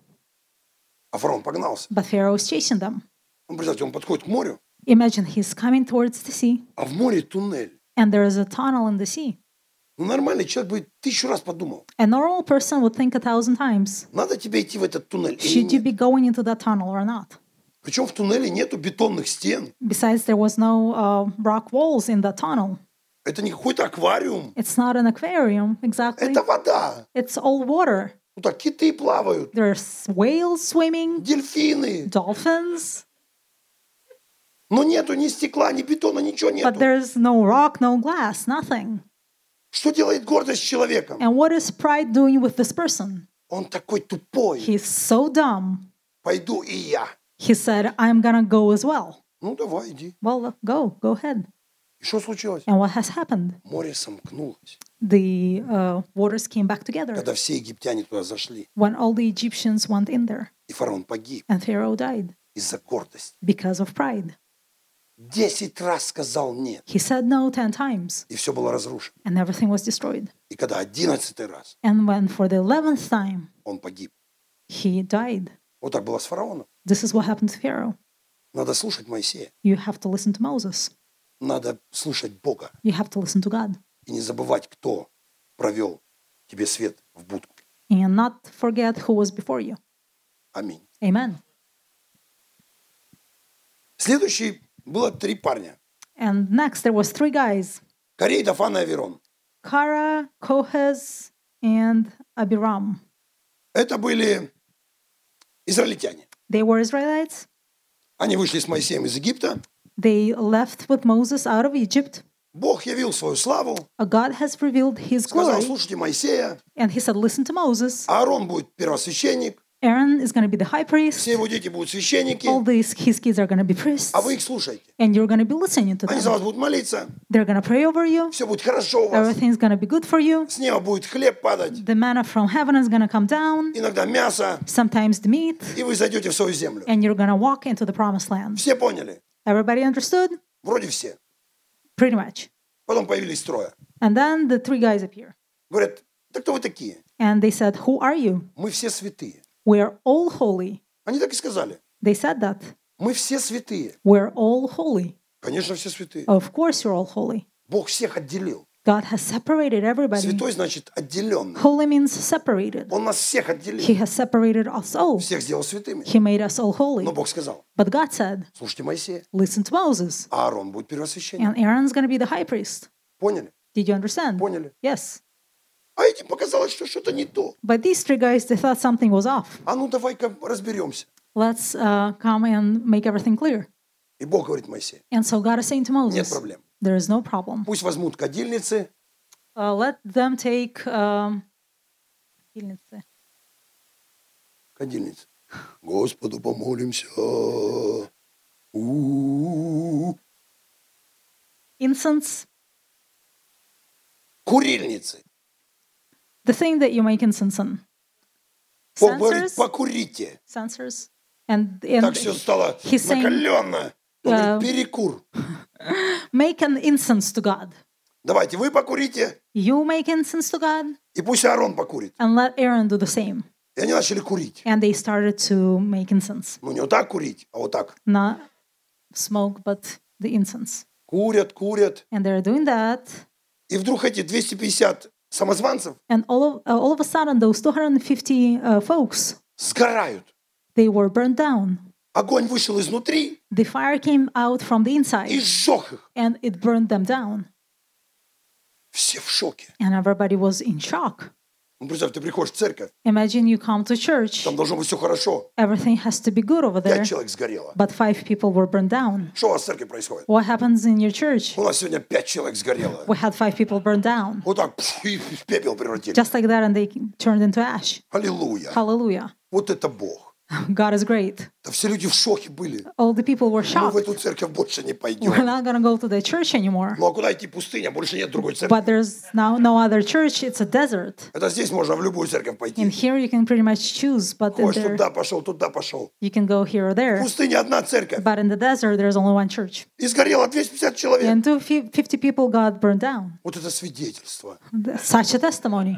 А фараон погнался. But Pharaoh is chasing them. Он, представьте, он подходит к морю, Imagine he's coming towards the sea. а в море туннель. And there is a tunnel in the sea. Ну, нормальный человек бы тысячу раз подумал. A normal person would think a thousand times, Надо тебе идти в этот туннель или should you нет? be going into that tunnel or not? Причем в туннеле нету бетонных стен. Besides, there was no uh, rock walls in that tunnel. Это не какой-то аквариум. It's not an aquarium, exactly. Это вода. It's all water. Ну так киты плавают, There's whales swimming, дельфины. dolphins, Но нету ни стекла, ни бетона, ничего but нету. there's no rock, no glass, nothing. Что делает гордость с человеком? And what is pride doing with this person? Он такой тупой. He's so dumb. Пойду и я. He said, I'm gonna go as well. Ну давай, иди. Well, go, go ahead. И что случилось? And what has happened? Море сомкнулось. The uh, waters came back together Когда все египтяне туда зашли, when all the Egyptians went in there, и фараон погиб and Pharaoh died из-за гордости. because of pride. Десять раз сказал нет, He said no ten times, и все было разрушено. and everything was destroyed. И когда одиннадцатый раз And when for the eleventh time он погиб. he died, Вот так было с фараоном. this is what happened to Pharaoh. Надо слушать Моисея. You have to listen to Moses. Надо слушать Бога. You have to listen to God. И не забывать, кто провел тебе свет в будку. And not forget who was before you. Аминь. Amen. Следующий было три парня. And next there was three guys, Корей, Дафан и Аверон. Kara, Kohez, and Abiram. Это были израильтяне. They were Israelites. Они вышли с Моисеем из Египта. They left with Moses out of Egypt. Бог явил свою славу. Uh, God has revealed his Сказал, glory. слушайте Моисея. And he said, listen to Moses. Аарон будет первосвященник. Aaron is going to be the high priest. Все его дети будут священники. All these, his kids are going to be priests. А вы их слушайте. And you're going to be listening to Они за them. вас будут молиться. They're going to pray over you. Все будет хорошо у вас. Everything's going to be good for you. С неба будет хлеб падать. The manna from heaven is going to come down. Иногда мясо. Sometimes the meat. И вы зайдете в свою землю. And you're going to walk into the promised land. Все поняли? Everybody understood? Вроде все. Pretty much. Потом появились трое. And then the three guys appear. Говорят, да кто вы такие? And they said, who are you? Мы все святые. We're all holy. Они так и сказали. They said that. Мы все святые. We're all holy. Конечно, все святые. Of course you're all holy. Бог всех отделил. God has separated everybody. Святой значит отделенный. Holy means separated. Он нас всех отделил. He has separated us all. Всех сделал святыми. He made us all holy. Но Бог сказал, But God said, слушайте Моисея, listen to Moses. а Аарон будет первосвященник. And Aaron's going to be the high priest. Поняли? Did you understand? Поняли. Yes. А этим показалось, что что-то не то. But these three guys, they thought something was off. А ну давай-ка разберемся. Let's uh, come and make everything clear. И Бог говорит Моисею, And so God is saying to нет Moses, проблем. there is no problem. Пусть возьмут кадильницы, Uh, let them take um, кадильницы. Кадильница. Господу помолимся. У-у-у. Incense, Курильницы. the thing that you make incense on. Бог говорит, Censers, покурите. censers, and Так and все стало he's saying, накаленно. Он uh, говорит, перекур. make an incense to God. Давайте вы покурите, You make incense to God, и пусть Аарон покурит. and let Aaron do the same. И они начали курить. And they started to make incense, Ну, не вот так курить, а вот так. not smoke, but the incense. Курят, курят. And they're doing that, И вдруг эти двести пятьдесят самозванцев and all of uh, all of a sudden, those two hundred fifty uh, folks, сгорают. they were burned down. Огонь вышел изнутри The fire came out from the и inside, сжег их. and it burned them down. Все в шоке. And everybody was in shock. Ну, представь, ты приходишь в церковь, Imagine you come to church, там должно быть все хорошо. everything has to be good over there, Пять человек сгорело. but five people were burned down. Что у вас в церкви происходит? What happens in your church? У нас сегодня пять человек сгорело. We had five people burned down. Вот так пф, и в пепел превратили. Just like that, and they turned into ash. Аллилуйя. Hallelujah. Вот это Бог. God is great. Да все люди в шоке были. All the people were Мы в shocked. эту церковь больше не We're пойдем. not going to go to the church anymore. Ну а куда идти? Пустыня, больше нет другой церкви. But there's now no other church. It's a desert. Это здесь можно в любую церковь And пойти. here you can pretty much choose, but in Хочешь there туда пошел, туда пошел. you can go here or В there. пустыне одна церковь. But in the desert, there's only one church. И сгорело двести пятьдесят человек. And two fif- fifty people got burned down. Вот это свидетельство. Such a testimony.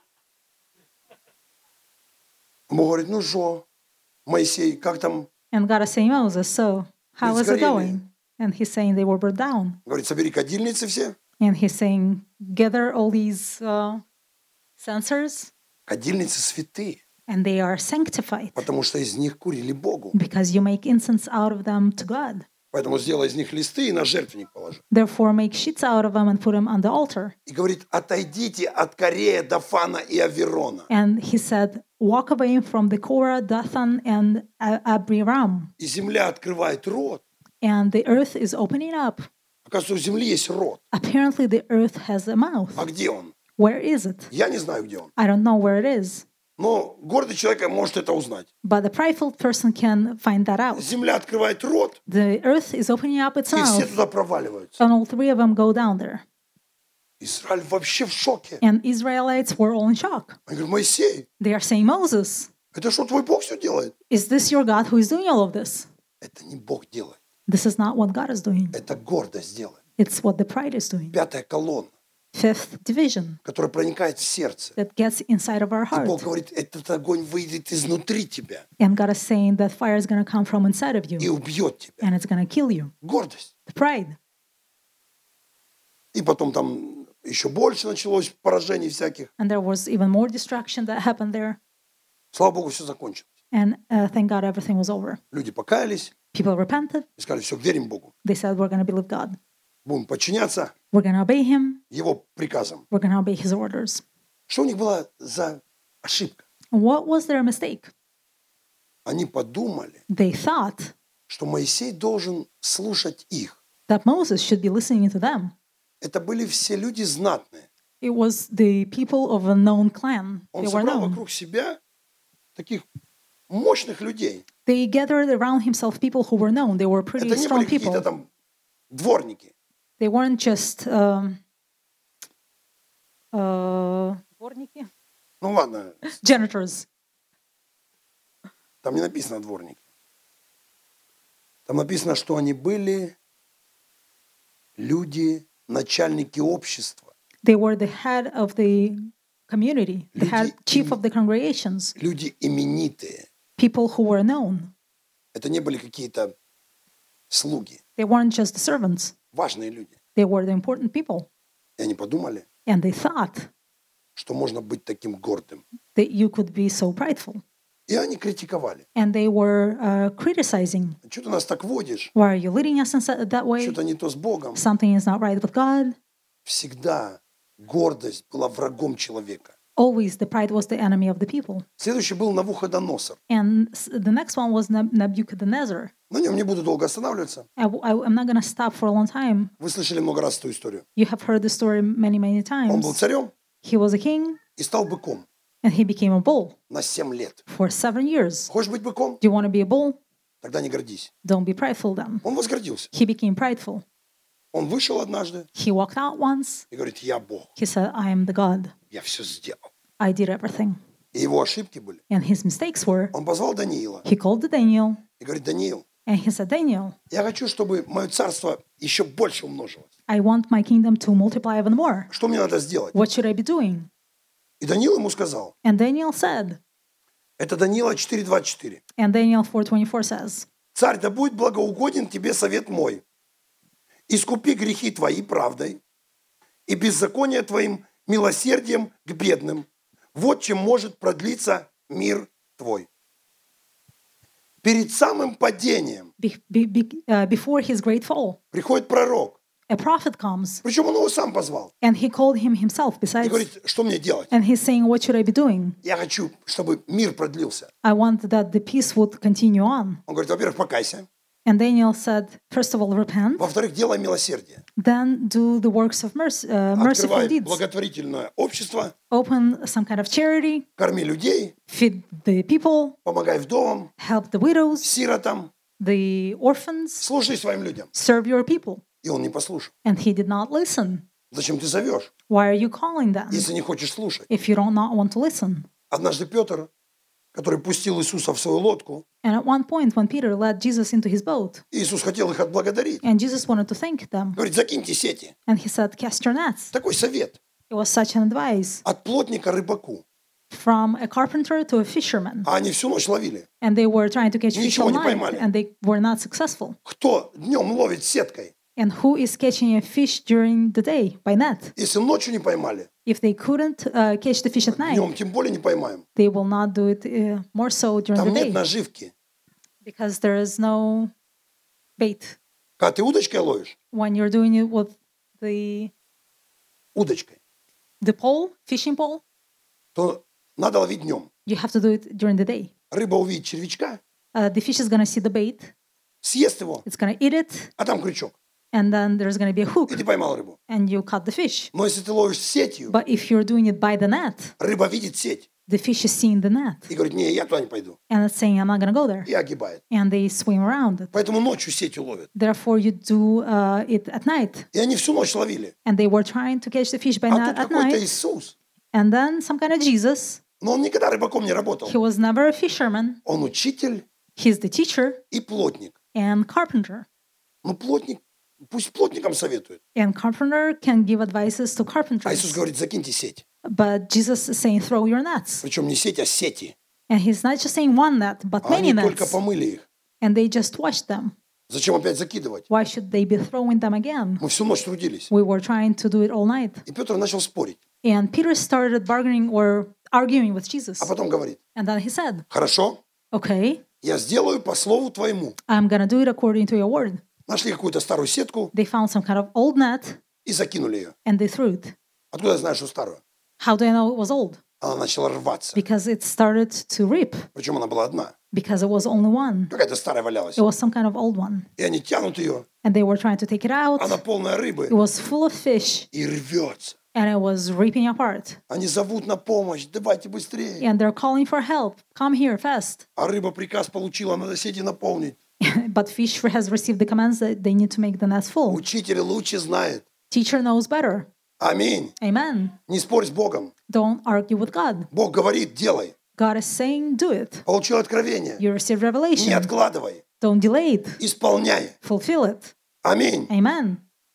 Бог говорит, ну что, Моисей, как там? And God is saying, Moses, so how is it сгорели. going? And he's saying they were burned down. Говорит, собери кадильницы все. And he's saying, gather all these uh, censers, Кадильницы святые, and they are sanctified потому что из них курили Богу. because you make incense out of them to God. Поэтому сделай из них листы и на жертвенник положи. Therefore, make sheets out of them and put them on the altar. И говорит, отойдите от Корея, Дафана и Аверона. And he said, walk away from the Korah, Dathan, and A- Abiram. И земля открывает рот. And the earth is opening up. Оказывается, у земли есть рот. Apparently, the earth has a mouth. А где он? Where is it? Я не знаю, где он. I don't know where it is. Но гордый человек может это узнать. But the prideful person can find that out. Земля открывает рот, The earth is opening up its и все mouth, туда проваливаются. and all three of them go down there. Израиль вообще в шоке. And Israelites were all in shock. Он говорит, Моисей, They are saying, Moses, это что, твой Бог все делает? is this your God who is doing all of this? Это не Бог делает. This is not what God is doing. Это гордость делает. It's what the pride is doing. Пятая колонна, Fifth division которая проникает в сердце. that gets inside of our И Бог heart. говорит, этот огонь выйдет изнутри тебя And God is saying that fire is going to come from inside of и you, убьет тебя. and it's going to kill you. Гордость. The pride. И потом там еще больше началось поражений всяких. And there was even more destruction that happened there. Слава Богу, все закончилось. And uh, thank God everything was over. Люди покаялись People repented. и сказали, все, верим Богу. They said, we're going to believe God. Будем подчиняться We're going to obey Him. Его приказам. We're going to obey His orders. Что у них была за ошибка? What was their mistake? Они подумали, They thought что Моисей должен слушать их. that Moses should be listening to them. Это были все люди знатные. It was the people of a known clan. Он They were собрал known. вокруг себя таких мощных людей. They gathered around himself people who were known. They were pretty Это не strong были какие-то people. там дворники. They weren't just um, uh, дворники? Ну ладно, janitors. там не написано дворники. Там написано, что они были люди, начальники общества, They were the head of the community, the head, Люди chief of the congregations, люди именитые. people who were known. Это не были какие-то слуги, They weren't just the servants. важные люди. They were the important people. И они подумали, And they thought что можно быть таким гордым. that you could be so prideful. И они критиковали. And they were uh, criticizing. Что ты нас так водишь? Why are you leading us in sa- that way? Что-то не то с Богом. Something is not right with God. Всегда гордость была врагом человека. Always the pride was the enemy of the people. Следующий был Навуходоносор. And s- the next one was Neb- Nebuchadnezzar. На нем не буду долго останавливаться. I, w- I- I'm not going to stop for a long time. Вы слышали много раз эту историю. You have heard the story many, many Он был times. царем He was a king и стал быком and he became a bull на семь лет. for seven years. Хочешь быть быком? Do you want to be a bull? Тогда не гордись. Don't be prideful then. Он возгордился. He became prideful. Он вышел однажды He walked out once. и говорит, я Бог, He said, I am the God. я все сделал. I did everything. И его ошибки были. And his mistakes were, Он позвал Даниила he called Daniel и говорит, Даниил, and he said, Daniel, я хочу, чтобы мое царство еще больше умножилось. I want my kingdom to multiply even more. Что мне надо сделать? What should I be doing? И Даниил ему сказал, And Daniel said, это Даниила четыре двадцать четыре. and Daniel four twenty-four says, Царь, да будет благоугоден тебе совет мой. Искупи грехи твои правдой и беззаконие твоим милосердием к бедным. Вот чем может продлиться мир твой. Перед самым падением be, be, be, uh, before his great fall, приходит пророк. a prophet comes Причем он его сам позвал. and he called him himself И besides, говорит, что мне делать? and he's saying, what should I be doing? Я хочу, чтобы мир продлился. I want that the peace would continue on. Он говорит, во-первых, покайся. And Daniel said, first of all, repent, Во-вторых, делай милосердие. then do the works of mercy, uh, merciful Открывай deeds. благотворительное общество, Open some kind of charity, корми людей, feed the people, помогай вдовам, help the widows, сиротам, the orphans, служи своим людям. serve your people. И он не послушал. And he did not listen. Зачем ты зовешь, Why are you calling them если не хочешь слушать? if you don't not want to listen? Однажды Петр, который пустил Иисуса в свою лодку, And at one point, when Peter led Jesus into his boat, Иисус хотел их отблагодарить. and Jesus wanted to thank them, Говорит, закиньте сети. and he said, cast your nets. Такой совет. It was such an advice От плотника рыбаку. from a carpenter to a fisherman. А они всю ночь ловили. And they were trying to catch fish Ничего all не night, поймали. and they were not successful. Кто днем ловит сеткой? And who is catching a fish during the day by net? Если ночью не поймали, If they couldn't uh, catch the fish at night, днем тем более не поймаем. they will not do it uh, more so during Там the нет day наживки. because there is no bait. Когда ты удочкой ловишь, When you're doing it with the удочкой, the pole, fishing pole, то надо ловить днем. you have to do it during the day. Рыба увидит червячка, Uh, the fish is gonna see the bait, съест его, it's gonna eat it, а там крючок. and then there's gonna be a hook, И ты поймал рыбу. and you cut the fish. Но если ты ловишь сетью, But if you're doing it by the net, рыба видит сеть the fish is seeing the net, и говорит, не, я туда не пойду. and it's saying, I'm not gonna go there, И огибает. and they swim around it. Поэтому ночью сетью ловят. Therefore, you do uh, it at night. И они всю ночь ловили. And they were trying to catch the fish by А night тут at какой-то night. Иисус. And then some kind of Jesus. Но он никогда рыбаком не работал. He was never a fisherman. Он учитель He's the teacher и плотник. and carpenter. Ну, плотник, пусть плотникам советует. And carpenter can give advices to А Иисус carpenters. говорит, закиньте сеть. But Jesus is saying, throw your nets. Причем не сеть, а сети. And he's not just saying one net, but А many они только nets. помыли их. And they just washed them. Зачем опять закидывать? Why should they be throwing them again? Мы всю ночь трудились. We were trying to do it all night. И Петр начал спорить. And Peter started bargaining or arguing with Jesus. А потом говорит, And then he said, хорошо, okay, я сделаю по слову твоему. I'm going to do it according to your word. Нашли какую-то старую сетку They found some kind of old net и закинули ее. and they threw it. Откуда я знаю, что старую? How do I know it was old? Она начала рваться. Because it started to rip, Причем она была одна. because it was only one. Какая-то старая валялась. It was some kind of old one. И они тянут ее. And they were trying to take it out. Она полная рыбы. It was full of fish И рвется. and it was ripping apart. Они зовут на помощь. Давайте быстрее. And they're calling for help. Come here fast. А рыба приказ получила, надо сети наполнить. But fish has received the commands that they need to make the nets full. Учитель лучше знает. Teacher knows better. Аминь. Amen. Не спорь с Богом. Don't argue with God. Бог говорит, делай. God is saying, do it. Получил откровение. You received Не revelation. откладывай. Don't delay it. Исполняй. Fulfill it. Аминь. Amen.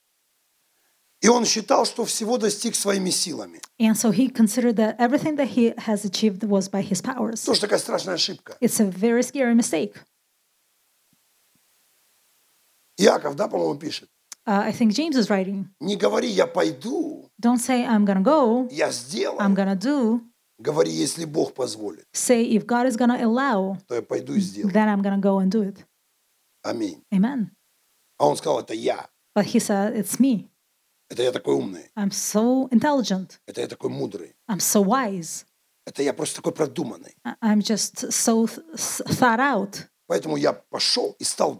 И он считал, что всего достиг своими силами. And so he considered that everything that he has achieved was by his powers. Тоже такая страшная ошибка. It's a very scary mistake. Иаков, да, по-моему, пишет. Uh, I think James is writing, Не говори, я пойду, don't say, I'm going to go, я I'm сделаю. going to do. Говори, если Бог позволит, Say, if God is going to allow, то я пойду и сделаю. then I'm going to go and do it. Аминь. Amen. А он сказал, это я. But he said, it's me. Это я такой умный. I'm so intelligent. Это я такой мудрый. I'm so wise. Это я просто такой продуманный. I- I'm just so th- s- thought out. Поэтому я пошел и стал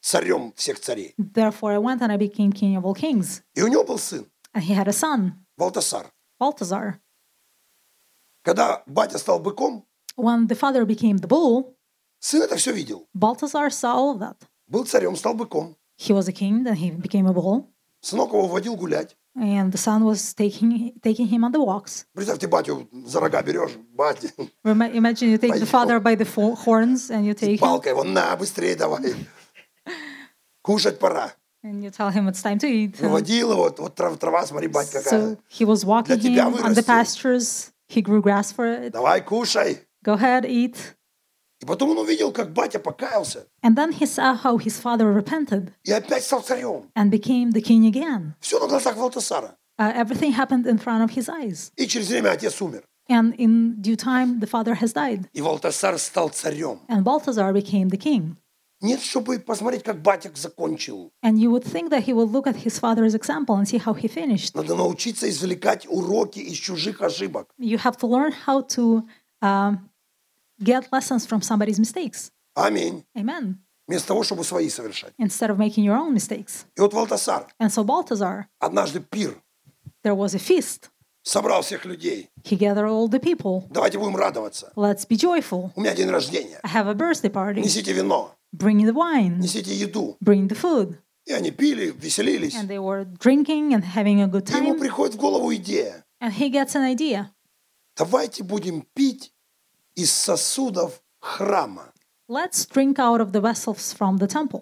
царем всех царей. Therefore I went and I became king of all kings. И у него был сын, And he had a son, Валтасар. Balthazar. Когда батя стал быком, When the father became the bull, сын это все видел. Balthazar saw all of that. Был царем, стал быком. He was a king, then he became a bull. Сынок его водил гулять. And the son was taking taking him on the walks. Представьте, батю за рога берешь, батя, Rema- Imagine you take the father by the fo- horns and you take him палкой его, на, быстрее давай. Кушать пора. and you tell him it's time to eat. And Водил его, вот трава, трава, смотри, бать какая. so he was walking Для тебя him on the вырастет. pastures. He grew grass for it. Давай, кушай. Go ahead, eat. И потом он увидел, как батя покаялся. And then he saw how his father repented И опять стал царем. and became the king again. Все на глазах Валтасара. Uh, everything happened in front of his eyes. И через время отец умер. And in due time, the father has died. И Валтасар стал царем. And Balthazar became the king. Нет, чтобы посмотреть, как батя закончил. And you would think that he would look at his father's example and see how he finished. Надо научиться извлекать уроки из чужих ошибок. You have to learn how to um, get lessons from somebody's mistakes. Аминь. Amen. Вместо того, чтобы свои совершать. Instead of making your own mistakes. И вот Валтасар, And so Balthazar, однажды пир, there was a feast. собрал всех людей. He gathered all the people. Давайте будем радоваться. Let's be joyful. У меня день рождения. I have a birthday party. Несите вино, Bring the wine. несите еду. Bring the food. И они пили, веселились. And they were drinking and having a good И ему time. приходит в голову идея. And he gets an idea. Давайте будем пить из сосудов храма. Let's drink out of the vessels from the temple.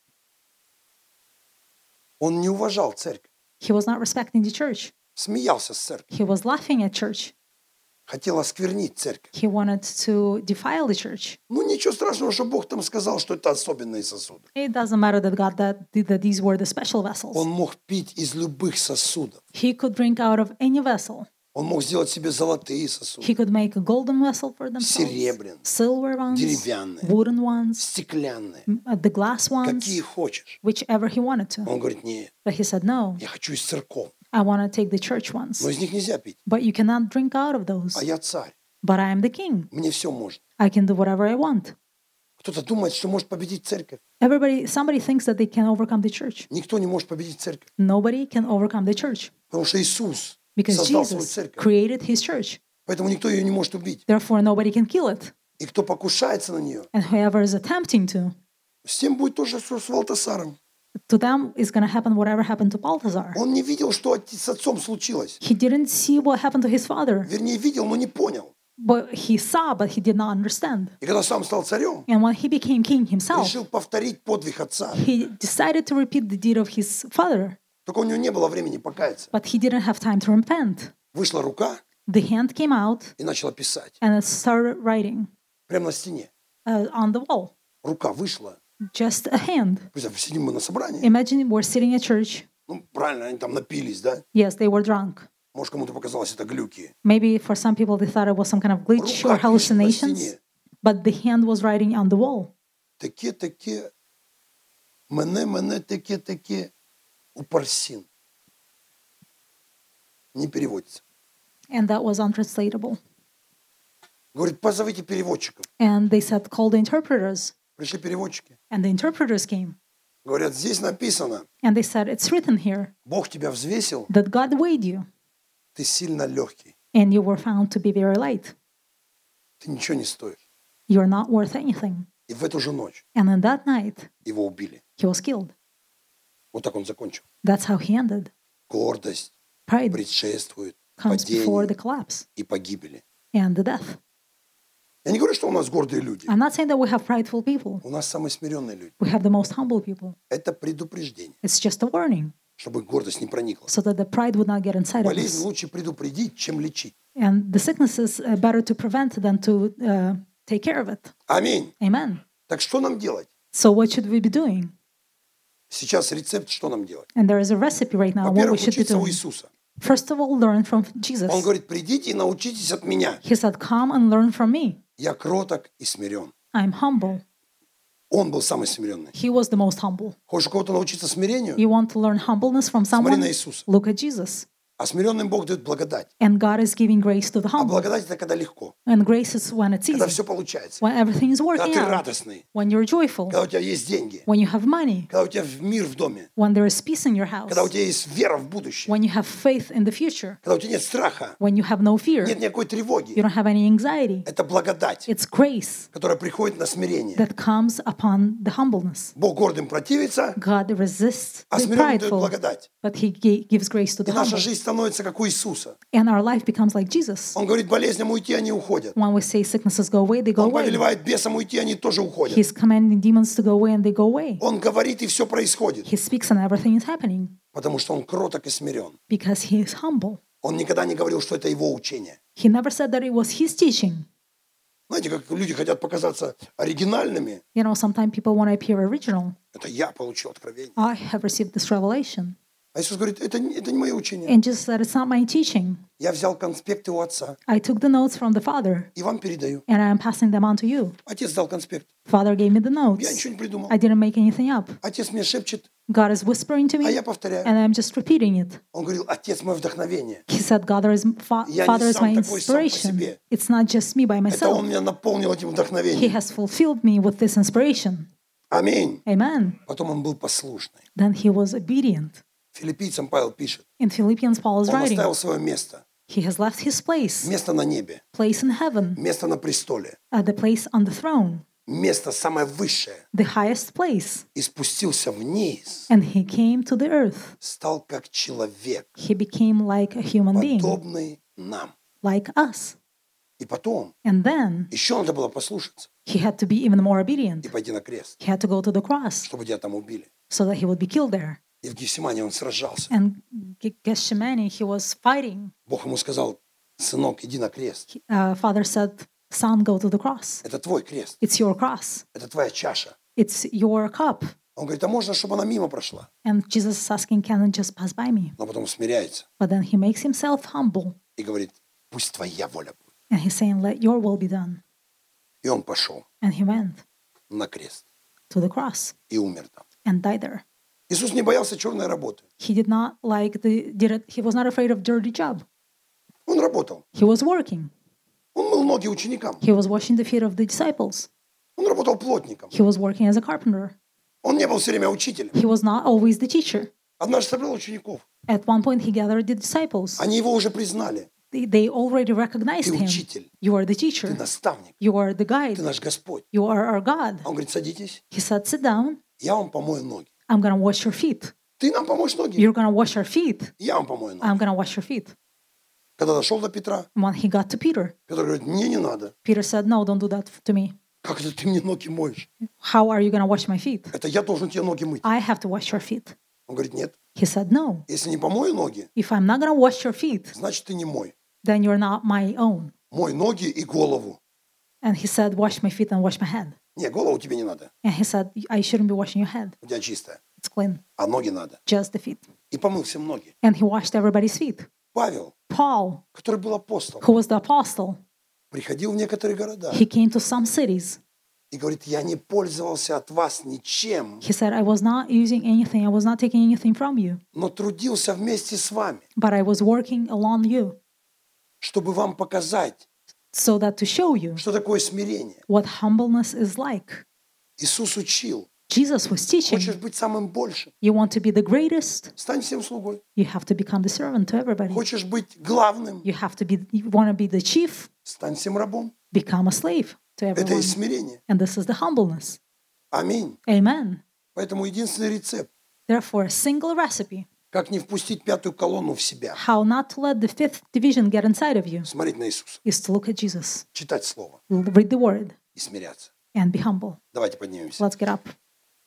Он не уважал церковь. He was not respecting the church. Смеялся с церковью. He was laughing at church. Хотел осквернить церковь. He wanted to defile the church. Ну ничего страшного, что Бог там сказал, что это особенные сосуды. It doesn't matter that God that, that these were the special vessels. Он мог пить из любых сосудов. He could drink out of any vessel. Он мог сделать себе золотые сосуды, He could make a golden vessel for themselves, серебряные, silver ones, деревянные, wooden ones, стеклянные, uh, the glass какие ones, хочешь. whichever he wanted to. Он говорит, нет, But he said, no, я хочу из церков, I want to take the church ones. но из них нельзя пить. But you cannot drink out of those. А я царь, But I am the king. мне все можно. I can do whatever I want. Кто-то думает, что может победить церковь. Everybody, somebody thinks that they can overcome the church. Никто не может победить церковь, Nobody can overcome the church потому что Иисус because создал свою Jesus церковь. created his church. Поэтому никто ее не может убить. Therefore, nobody can kill it. И кто покушается на нее, And whoever is attempting to, с тем будет то же, что с Валтасаром. to them is going to happen whatever happened to Balthazar. Он не видел, что отец- с отцом случилось. He didn't see what happened to his father, Вернее, видел, но не понял. but he saw, but he did not understand. И когда сам стал царем, And when he became king himself, решил повторить подвиг отца. he decided to repeat the deed of his father, Только у него не было времени покаяться. but he didn't have time to repent. Вышла рука The hand came out и начала писать. and it started writing Прямо на стене. uh, on the wall. Рука вышла. Just a hand. Представь, сидим мы на собрании. Imagine we're sitting at church. Ну, правильно, они там напились, да? Yes, they were drunk. Может, кому-то показалось это глюки. Maybe for some people they thought it was some kind of glitch or Рука пишет на hallucinations, стене. but the hand was writing on the wall. Таке, таке, мене, мене, таке, таке, упарсін. Не переводится. And that was untranslatable. Говорит, позовите переводчиков. And they said, call the interpreters. Пришли переводчики. And the interpreters came. Говорят, здесь написано, And they said, it's written here Бог тебя взвесил, that God weighed you, ты сильно легкий. and you were found to be very light. Ты ничего не стоишь. You're not worth anything. И в эту же ночь And on that night, его убили. he was killed. Вот так он закончил. That's how he ended. Гордость Pride предшествует comes before the падению collapse и погибели. and the death. Я не говорю, что у нас гордые люди. I'm not saying that we have prideful people. У нас самые смиренные люди. We have the most humble people. Это предупреждение, It's just a warning чтобы гордость не проникла. so that the pride would not get inside of Болезнь us. лучше предупредить, чем лечить. And the sickness is uh, better to prevent than to uh, take care of it. Аминь. Amen. Так что нам делать? So what should we be doing? Сейчас рецепт, что нам делать? And there is a recipe right now what we Во-первых, should be учиться у doing. Иисуса. First of all, learn from Jesus. Он говорит, придите и научитесь от меня. He said, come and learn from me. Я кроток и смирен. I'm humble. Он был самый смиренный. He was the most humble. Хочешь у кого-то научиться смирению? You want to learn humbleness from Смотри someone? на Иисуса. Look at Jesus. А смиренным Бог дает благодать. And God is giving grace to the А humble. благодать это когда легко, And grace is when it's когда easy, все получается, when everything is когда working ты out, радостный, when you're joyful, когда у тебя есть деньги, when you have money, когда у тебя мир в доме, when there is peace in your house, когда у тебя есть вера в будущее, when you have faith in the future, когда у тебя нет страха, when you have no fear, нет никакой you тревоги. don't have any anxiety. Это благодать, It's grace которая приходит на смирение. that comes upon the humbleness. Бог гордым противится, God resists а the смиренным дает prideful, благодать. but He gi- gives grace to И the наша humble. жизнь становится как у Иисуса. And our life becomes like Jesus. Он говорит, болезням уйти, они уходят. When we say sicknesses go away, they go Он away. повелевает бесам уйти, они тоже уходят. He's commanding demons to go away, and they go away. Он говорит, и все происходит. He speaks, and everything is happening Потому что он кроток и смирен. because He is humble. Он никогда не говорил, что это его учение. He never said that it was His teaching. Знаете, как люди хотят показаться оригинальными. You know, sometimes people want to appear original. Это я получил откровение. I have received this revelation. А Иисус говорит, это, не- это не мое учение. And Jesus said, it's not my teaching. Я взял конспекты у отца I took the notes from the Father, и вам передаю. and I am passing them on to you. Отец дал конспект. Father gave me the Я notes. ничего не придумал. I didn't make anything up. Отец мне шепчет, God is whispering to а me, я повторяю. and I'm just repeating it. Он говорил, отец мое вдохновение. He said, God is, fa- Я не Father is сам my такой сам по inspiration. себе. It's not just me by Это он myself. меня наполнил этим He вдохновением. has fulfilled me with this inspiration. Аминь. Amen. Потом он был послушный. Then he was obedient. Филиппийцам Павел пишет, In Philippians, Paul is он writing, оставил свое место. he has left his place, Место на небе, place in heaven, место на престоле, uh, the place on the throne, место самое высшее. the highest place. И спустился вниз, And he came to the earth. стал как человек, He became like a human being, подобный нам. like us. И потом And then еще надо было послушаться he had to be even more и obedient. пойти на крест, He had to go to the cross чтобы тебя там убили. so that he would be killed there. И в Гефсимане он сражался. And Ge- Gethsemane, he was fighting. Бог ему сказал, сынок, иди на крест. Uh, Father said, son, go to the cross. Это твой крест, It's your cross. это твоя чаша. It's your cup. Он говорит, а можно, чтобы она мимо прошла? And Jesus is asking, can it just pass by me? Но потом смиряется But then he makes himself humble. и говорит, пусть твоя воля будет. And he's saying, let your will be done. И он пошел And he went на крест to the cross и умер там. and died there. Иисус не боялся черной работы. He did not like the, did it, he was not afraid of dirty job. Он работал. He was working. Он мыл ноги ученикам. He was washing the feet of the disciples. Он работал плотником. He was working as a carpenter. Он не был все время учителем. He was not always the teacher. Однажды собрал учеников. At one point, he gathered the disciples. Они его уже признали. They, they already recognized Ты him. учитель, You are the ты teacher. наставник, You are the ты guide. наш Господь. You are our God. А он говорит, садитесь, He said, sit down. я вам помою ноги. I'm going to wash your feet. Ты нам помоешь ноги? You're going to wash our feet. Я вам помою ноги. I'm going to wash your feet. Когда дошел до Петра, When he got to Peter, Петр говорит, мне не надо. Peter said, no, don't do that to me. Как это ты мне ноги моешь? How are you going to wash my feet? Это я должен тебе ноги мыть. I have to wash your feet. Он говорит, нет, He said, no. если не помою ноги, If I'm not going to wash your feet, значит ты не мой. then you're not my own. Мой ноги и голову. And he said, wash my feet and wash my head. Не, голову тебе не надо. And he said, I shouldn't be washing your head. У тебя чистая. It's clean. А ноги надо. Just the feet. И помыл всем ноги. And he washed everybody's feet. Павел, Paul, который был апостолом, who was the apostle, приходил в некоторые города he came to some cities. и говорит, я не пользовался от вас ничем, He said, I was not using anything. I was not taking anything from you. но трудился вместе с вами, But I was working along you чтобы вам показать, so that to show you что такое смирение. what humbleness is like. Иисус учил. Jesus was teaching. Хочешь быть самым большим? You want to be the greatest? Стань всем слугой. You have to become the servant to everybody. Хочешь быть главным? You have to be, you want to be the chief? Стань всем рабом. Become a slave to Это everyone. и смирение. And this is the humbleness. Аминь. Amen. Поэтому единственный рецепт, Therefore, a single recipe как не впустить пятую колонну в себя, how not to let the fifth division get inside of you смотреть на Иисуса, is to look at Jesus, читать Слово read the word, и смиряться. and be humble. Давайте поднимемся. Let's get up.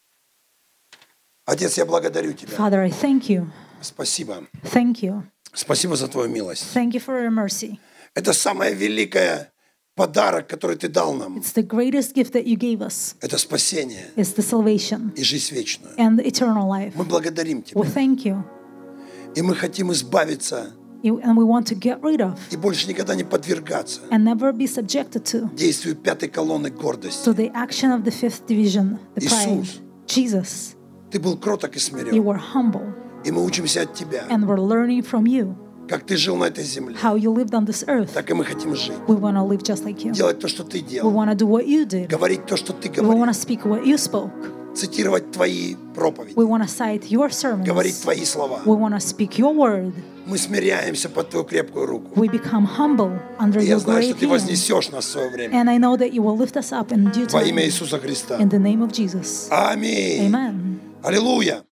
Отец, я благодарю Тебя. Father, I thank you. Спасибо. Thank you. Спасибо за Твою милость. Thank you for your mercy. Это самое великое подарок, который Ты дал нам. It's the greatest gift that you gave us. Это спасение It's the salvation и жизнь вечную. and the eternal life. Мы благодарим Тебя. We thank you. И мы хотим избавиться You- And we want to get rid of и больше никогда не подвергаться and never be subjected to действию пятой колонны гордости. to the action of the fifth division, the pride. Иисус. Jesus, Ты был кроток и you смирен. were humble, И мы учимся от Тебя. and we're learning from you. Как ты жил на этой земле, how you lived on this earth. так и мы хотим жить. We want to live just like you. Делать то, что ты We делал. want to do what you did. Говорить то, что ты We want говорил. to speak what you spoke. Цитировать твои проповеди. We want to cite your sermons. Говорить твои слова. We want to speak your word. Мы смиряемся под твою крепкую руку. We become humble under И я your знаю, что great ты hand. вознесешь нас в свое время. And I know that you will lift us up in due Во имя time. Иисуса Христа. In the name of Jesus. Аминь. Amen. Аллилуйя.